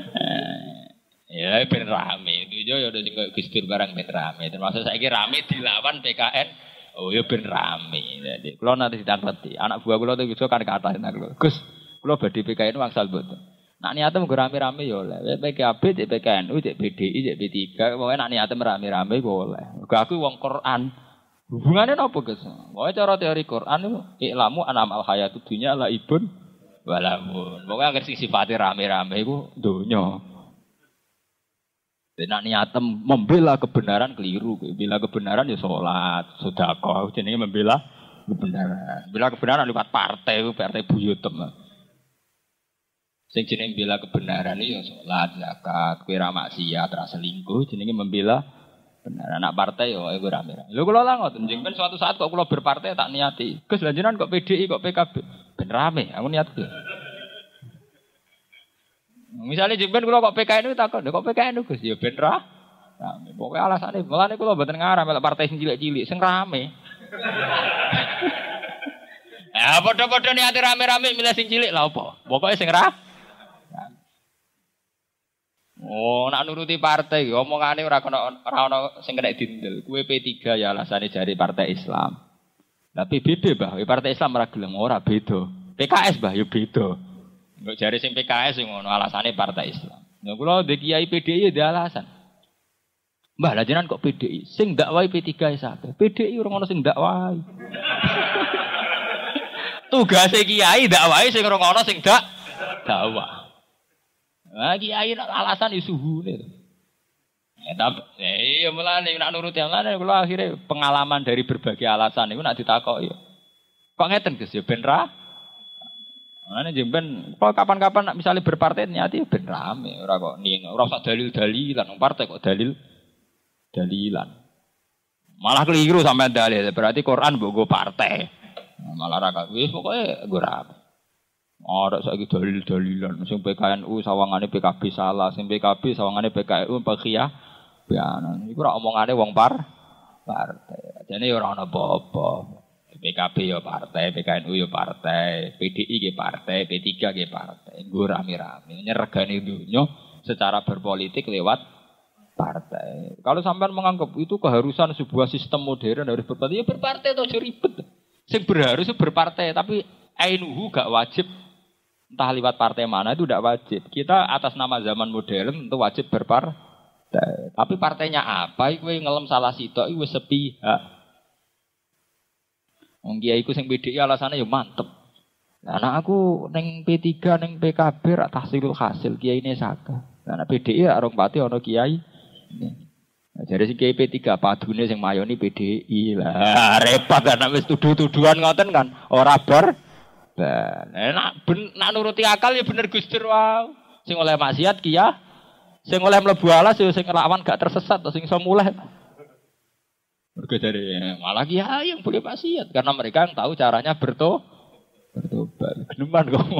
Ya ben rame. Itu yo yo sing Gus Dur barang ben rame. Termasuk saiki rame dilawan P K N. Oh ya ben rame. Jadi kula nanti ditangketi. Anak buah kula itu kan kata kula. Gus, kula badhe P K N wangsal mboten. Nak niate mung rame-rame ya oleh. P K B, P K N U, P D I, P D I, pokoke nak niate rame-rame ku oleh. Mergo aku wong Quran. Hubungane napa, Gus? Pokoke cara teori Quran iku iklamu anamal hayatud dunya laibun walamun. Pokoke anggere sing sifate rame-rame iku donya. Nak niate membela kebenaran keliru. Membela kebenaran ya salat, sedekah, jenenge membela kebenaran. Membela kebenaran lewat partai, partai buyutem. Sing jenenge membela kebenaran ya salat, zakat, kowe ra maksiat, ra selingkuh, jenenge membela benar. Anak partai ya kowe rame-rame. Lho kula lah ngoten, jenengan suatu saat kok kula berpartai tak niati. Gus lha jenengan kok P D I kok P K B. Ben rame, aku niat ku. Misale jenengan kula kok P K N U takon, kok P K N U Gus ya ben ra. Rame. Pokoke alasane, mulane kula mboten ngarah melok partai sing cilik-cilik, sing rame. Ya padha-padha niate rame-rame milih sing cilik lha apa? Pokoke sing ra. Oh, nak nuruti partai, omongane ora kena ora ana sing kena dindel. Kuwe P tiga ya alasane jari partai Islam. Tapi P B B, Mbah, partai Islam ora gelem ora beda. P K S, Mbah, ya beda. Engko jari sing P K S sing ngono alasane partai Islam. Lha kula ndek kiai P D I ya alasan. Mbah, lha jenengan kok P D I? Sing dakwahi P tiga wis akeh. P D I ora ono sing dakwahi. Tugase kiai dakwahi sing ora ono sing dak dakwah. Nah, kiai alasan isuhune. Ya tapi iya mulane nek nuruti mulane kula akhire pengalaman dari berbagai alasan niku nek ditakoki. Kok ngeten Gus ya ben ra. Mulane jemben kok kapan-kapan nek misale berpartai niati ben rame ora kok ning ora usah dalil-dalilan wong partai kok dalil dalilan. Malah keliru sampean dalil berarti Quran mbok go partai. Malah ra wis pokoke nggo rame. Ora saiki dalil-dalilan sing P K N U sawangane P K B salah, sing P K B sawangane P K N U Pakiyah. Bianan iku ora omongane wong par partai. Jane ora ana apa-apa. P K B ya partai, P K N U ya partai, P D I ge partai, P tiga ge partai. Nggo rame-rame nyergani dunya secara berpolitik lewat partai. Kalau sampean menganggap itu keharusan sebuah sistem modern harus berpartai, ya berpartai aja ribet. Sing berharus berpartai tapi ainuhu gak wajib. Entah lewat partai mana itu tidak wajib. Kita atas nama zaman modern tentu wajib berpartai. Tapi partainya apa? Iku ngelem salah sitok iku wis sepihak. Wong kiai iku sing P D I alasane ya mantep. Lah anak aku ning P tiga ning P K B rak tahsilul hasil kiyaine sakah. Lah nek P D I arung pati ana kiai. Nah, jadi si kiai P tiga padune sing mayoni P D I lah repot kan wis tuduh-tuduhan ngoten kan ora bar. Nah, nak ben nak nuruti akal ya bener Gus Dur wae. Sing oleh maksiat ki ya. Sing oleh mlebu alas ya sing lawan gak tersesat sing iso mulih. Mergo jare malah ki ya yang boleh maksiat karena mereka yang tahu caranya berto bertobat. Geneman kok.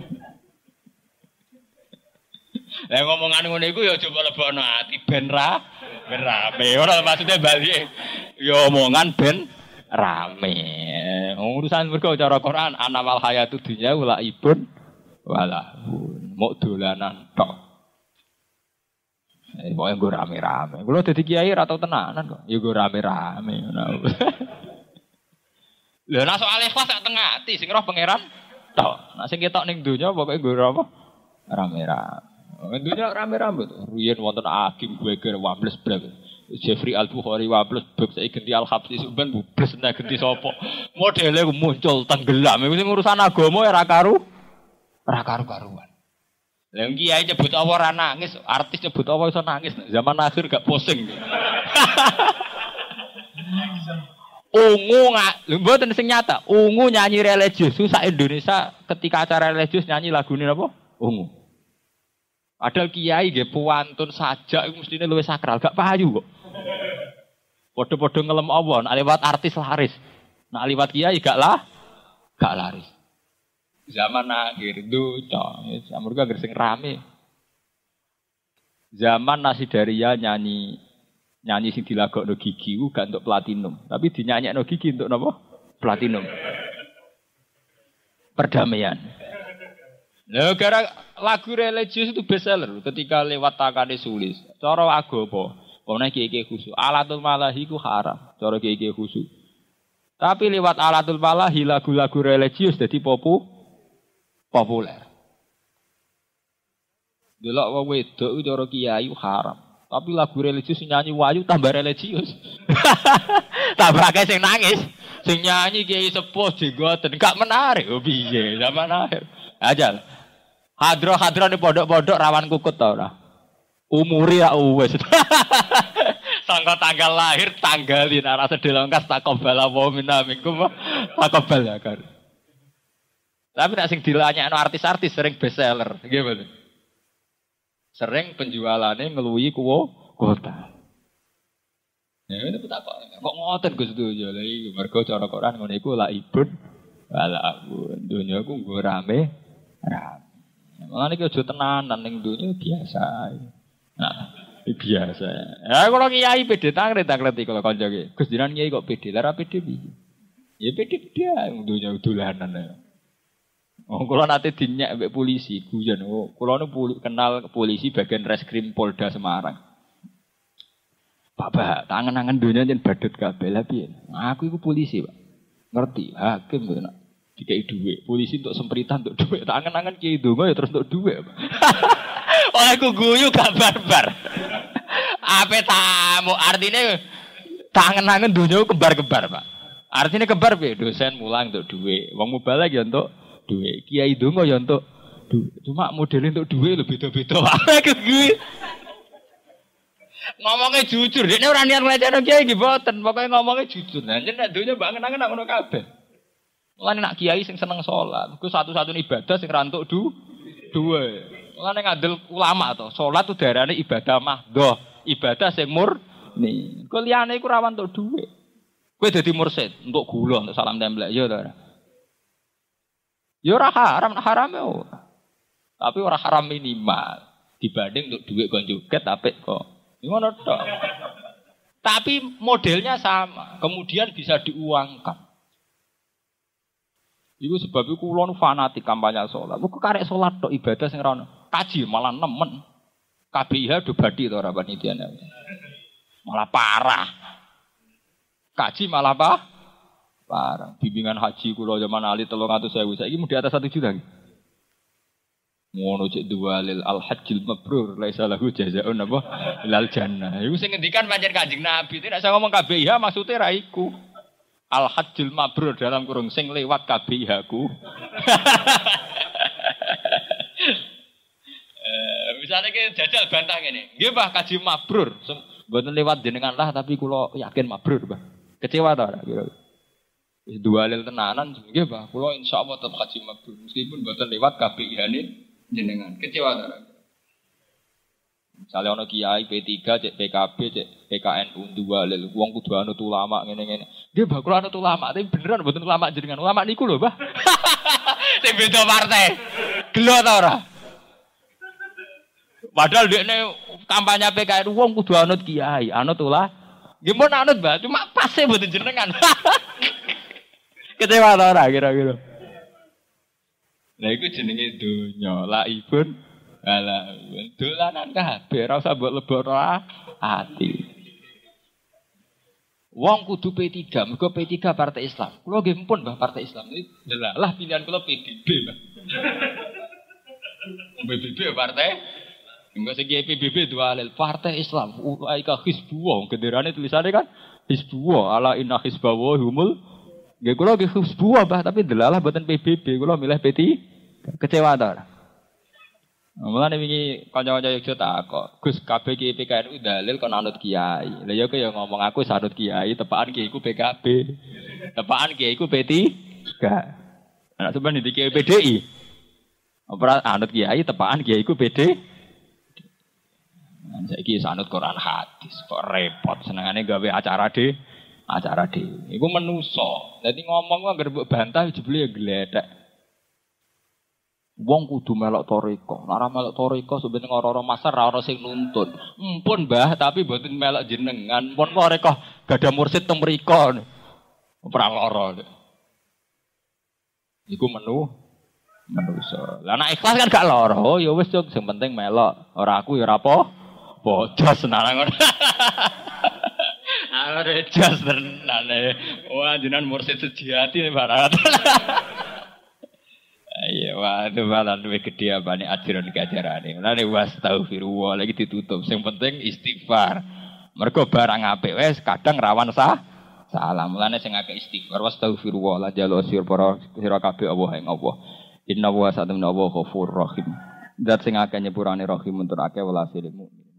Lah ngomongan ngene iku ya coba lebokno ati ben ra ben rame. Ora maksudnya bali ya omongan ben rame. Urusan mergo cara Quran anamal hayatud dunya wala ibun wala mok dolanan tok. Eh, pokoknya gue rame-rame. Kalau jadi kiai atau tenanan kok, ya gue rame-rame. Lha nek soal ikhlas sak tengah ati sing roh pangeran tok. Nek sing ketok ning donya pokoke gue apa? Rame-rame. Donya rame-rame to. Riyen wonten Agim Gweger Wables Brek. Jeffrey Al-Bukhari Wables Brek saiki ganti Al-Habsi sampean bubles nek ganti sapa. Modele muncul tenggelam. Iku sing urusan agama ora karu ora karu-karuan. Lah kiai nyebut apa ora nangis, artis nyebut apa iso nangis. Zaman akhir gak pusing. Ungu nggak, mboten sing nyata. Ungu nyanyi religius, susah Indonesia ketika acara religius nyanyi lagu ini apa? Ungu. Padahal kiai nggih puantun sajak iku mestine luwih sakral, gak payu kok. Padha-padha ngelem apa, nek liwat artis laris. Nek liwat kiai gak lah, gak laris. Zaman akhir duca, samur gak sing rame. Zaman Nasidaria nyanyi nyanyi sing dilagokno Gigi ku gak untuk platinum, tapi dinyanyekno Gigi untuk napa? Platinum. Perdamaian. Lha gara lagu religius itu bestseller ketika lewat tangane sulis. Cara agama, ana kiye-kiye khusyuk. Alatul malahi ku haram, cara kiye-kiye khusyuk. Tapi lewat alatul malahi lagu-lagu religius dadi popu populer. Delok wong wedok ku cara kiai haram. Tapi lagu religius nyanyi wayu tambah religius. Tambah akeh sing nangis. Sing nyanyi kiai sepuh jenggoten gak menarik. Oh piye zaman akhir. Ajal. Hadro-hadro di pondok-pondok rawan kukut ta ora? Umure ya wis. Sangka tanggal lahir tanggalin arah sedelongkas takobala wa minna minkum takobala kan. Tapi nek sing dilanyakno artis-artis sering bestseller, nggih mboten. Sering penjualannya ngeluwi kuwo kota. Ya itu tak kok. Kok ngoten Gus Dunya lha iki mergo cara Quran ngono iku la ibun wala abun. Dunya ku nggo rame rame. Mulane iki aja tenanan ning dunya biasa. Nah, biasa. Ya kalau kiai pede tangret takleti kalau kanca iki. Gus jenengan kiai kok pede, lara pede piye? Ya pede dia dunya dolanan ya. Oh, kalau nanti dinyak mbek polisi, guyon. Oh, kalau nu puli, kenal polisi bagian reskrim Polda Semarang. Bapak, tangan-tangan dunia jen badut kabeh lah piye. Aku iku polisi, Pak. Ngerti, hakim kok nak dikai dhuwit. Polisi untuk sempritan untuk dhuwit. Tangan-tangan kiai donga ya terus untuk dhuwit, Pak. Oh, aku guyu gak barbar. Ape tamu artinya tangan-tangan dunia kembar-kembar, Pak. Artinya kembar piye? Dosen mulang untuk dhuwit. Wong mubalek ya untuk duit, kiai dongo ya untuk duit. Cuma modelnya untuk duit lebih beda-beda. Apa gue? Ngomongnya jujur, dia orang niat ngelecehno kiai iki mboten, pokoke ngomongnya jujur. Nah, jeneng dunya bangen-angen nak ngono kabeh. Mulane nak kiai sing seneng salat, ku satu-satunya ibadah sing ra entuk du duwe. Mulane ngandel ulama to, salat tu darane ibadah mahdhah, ibadah sing murni. Ku liyane iku ra entuk duwe. Kowe dadi mursid, entuk gula, entuk salam templek ya to. Ya ora haram, haram ya. Tapi ora haram minimal dibanding untuk duit kon joget apik kok. Ngono tok. Tapi modelnya sama, kemudian bisa diuangkan. Iku sebab iku kula nu fanatik kampanye salat. Kok karek salat tok ibadah sing ora ono. Kaji malah nemen. K B I H do badi to ora panitiane. Malah parah. Kaji malah apa? Parah. Bimbingan haji kula zaman ali telung atus ewu saiki mung di atas satu juta. Ngono cek dua lil al hajjil mabrur laisa lahu jazaa'un apa ilal jannah. Iku sing ngendikan pancen Kanjeng Nabi. Nek saya ngomong K B I H maksude ra iku. Al hajjil mabrur dalam kurung sing lewat K B I H ku. Eh misale ki jajal bantah ngene. Nggih Pak kaji mabrur. Mboten lewat jenengan lah tapi kula yakin mabrur, Pak. Kecewa ta ora kira? Wis dua lil tenanan nggih Pak. Kula insyaallah tetep kaji mabrur meskipun mboten lewat K B I H-ne jenengan. Kecewa ta ora? Misale ana kiai P tiga cek P K B cek P K N U dua lil wong kudu anut ulama ngene-ngene. Nggih Pak, kula anut ulama tapi beneran mboten ulama jenengan. Ulama niku lho, Pak. Sing beda partai. Gelo ta ora? Padahal dekne kampanye P K N U wong kudu anut kiai, anut ulah. Nggih mun anut, Mbak, cuma pase mboten jenengan. Kecewa ta ora kira-kira. Lah iku jenenge donya, la ibun Alah, dolanan kabeh ora usah mbok lebokno ati. Wong kudu P tiga, mergo P tiga Partai Islam. Kulo nggih mpun Mbah Partai Islam. Delalah pilihan kulo P B B, Mbah. P B B partai. Enggak segi P B B dua alil Partai Islam. Ulaika Hizbullah. Genderane tulisannya kan Hizbullah. Ala inna hizbawa humul. Nggih kulo nggih Hizbullah, Mbah, tapi delalah mboten P B B. Kulo milih P tiga. Kecewa ta. Mulane wingi kanca-kanca Yogyakarta takok, Gus kabeh ki P K N U dalil kon anut kiai. Lah ya kaya ngomong aku sanut kiai, tepakan kiai ku P K B. Tepakan kiai ku P tiga. Ana sampeyan di kiai P D I. Ora anut kiai, tepakan kiai ku P D. Nah, saiki sanut Quran hadis, kok repot senengane gawe acara de, acara de. Iku menuso. Dadi ngomong kok anggere mbok bantah jebule ya gledek. Wong kudu melok toriko. Nek ora melok toriko sebenarnya ora-ora masar ora ono sing nuntun. Empun Mbah, tapi mboten melok jenengan. Pun toriko gadah mursid teng mriko. Ora lara. Iku menu menuso. Lah nek ikhlas kan gak lara. Oh ya wis yo sing penting melok. Ora aku ya ora apa. Bodos tenan ngono. Are jas tenan. Wah jenengan mursid sejati barat. Iya, waduh malah luwih gedhe apane ajaran kajarane. Mulane wastaghfirullah lagi ditutup. Sing penting istighfar. Mergo barang apik wis kadang rawan sah salah. Mulane sing akeh istighfar wastaghfirullah la jalo sir para sira kabeh Allah ing Allah. Inna wa sa'tamna wa ghafurur rahim. Zat sing akeh nyepurane rahim untuk akeh welas mukmin.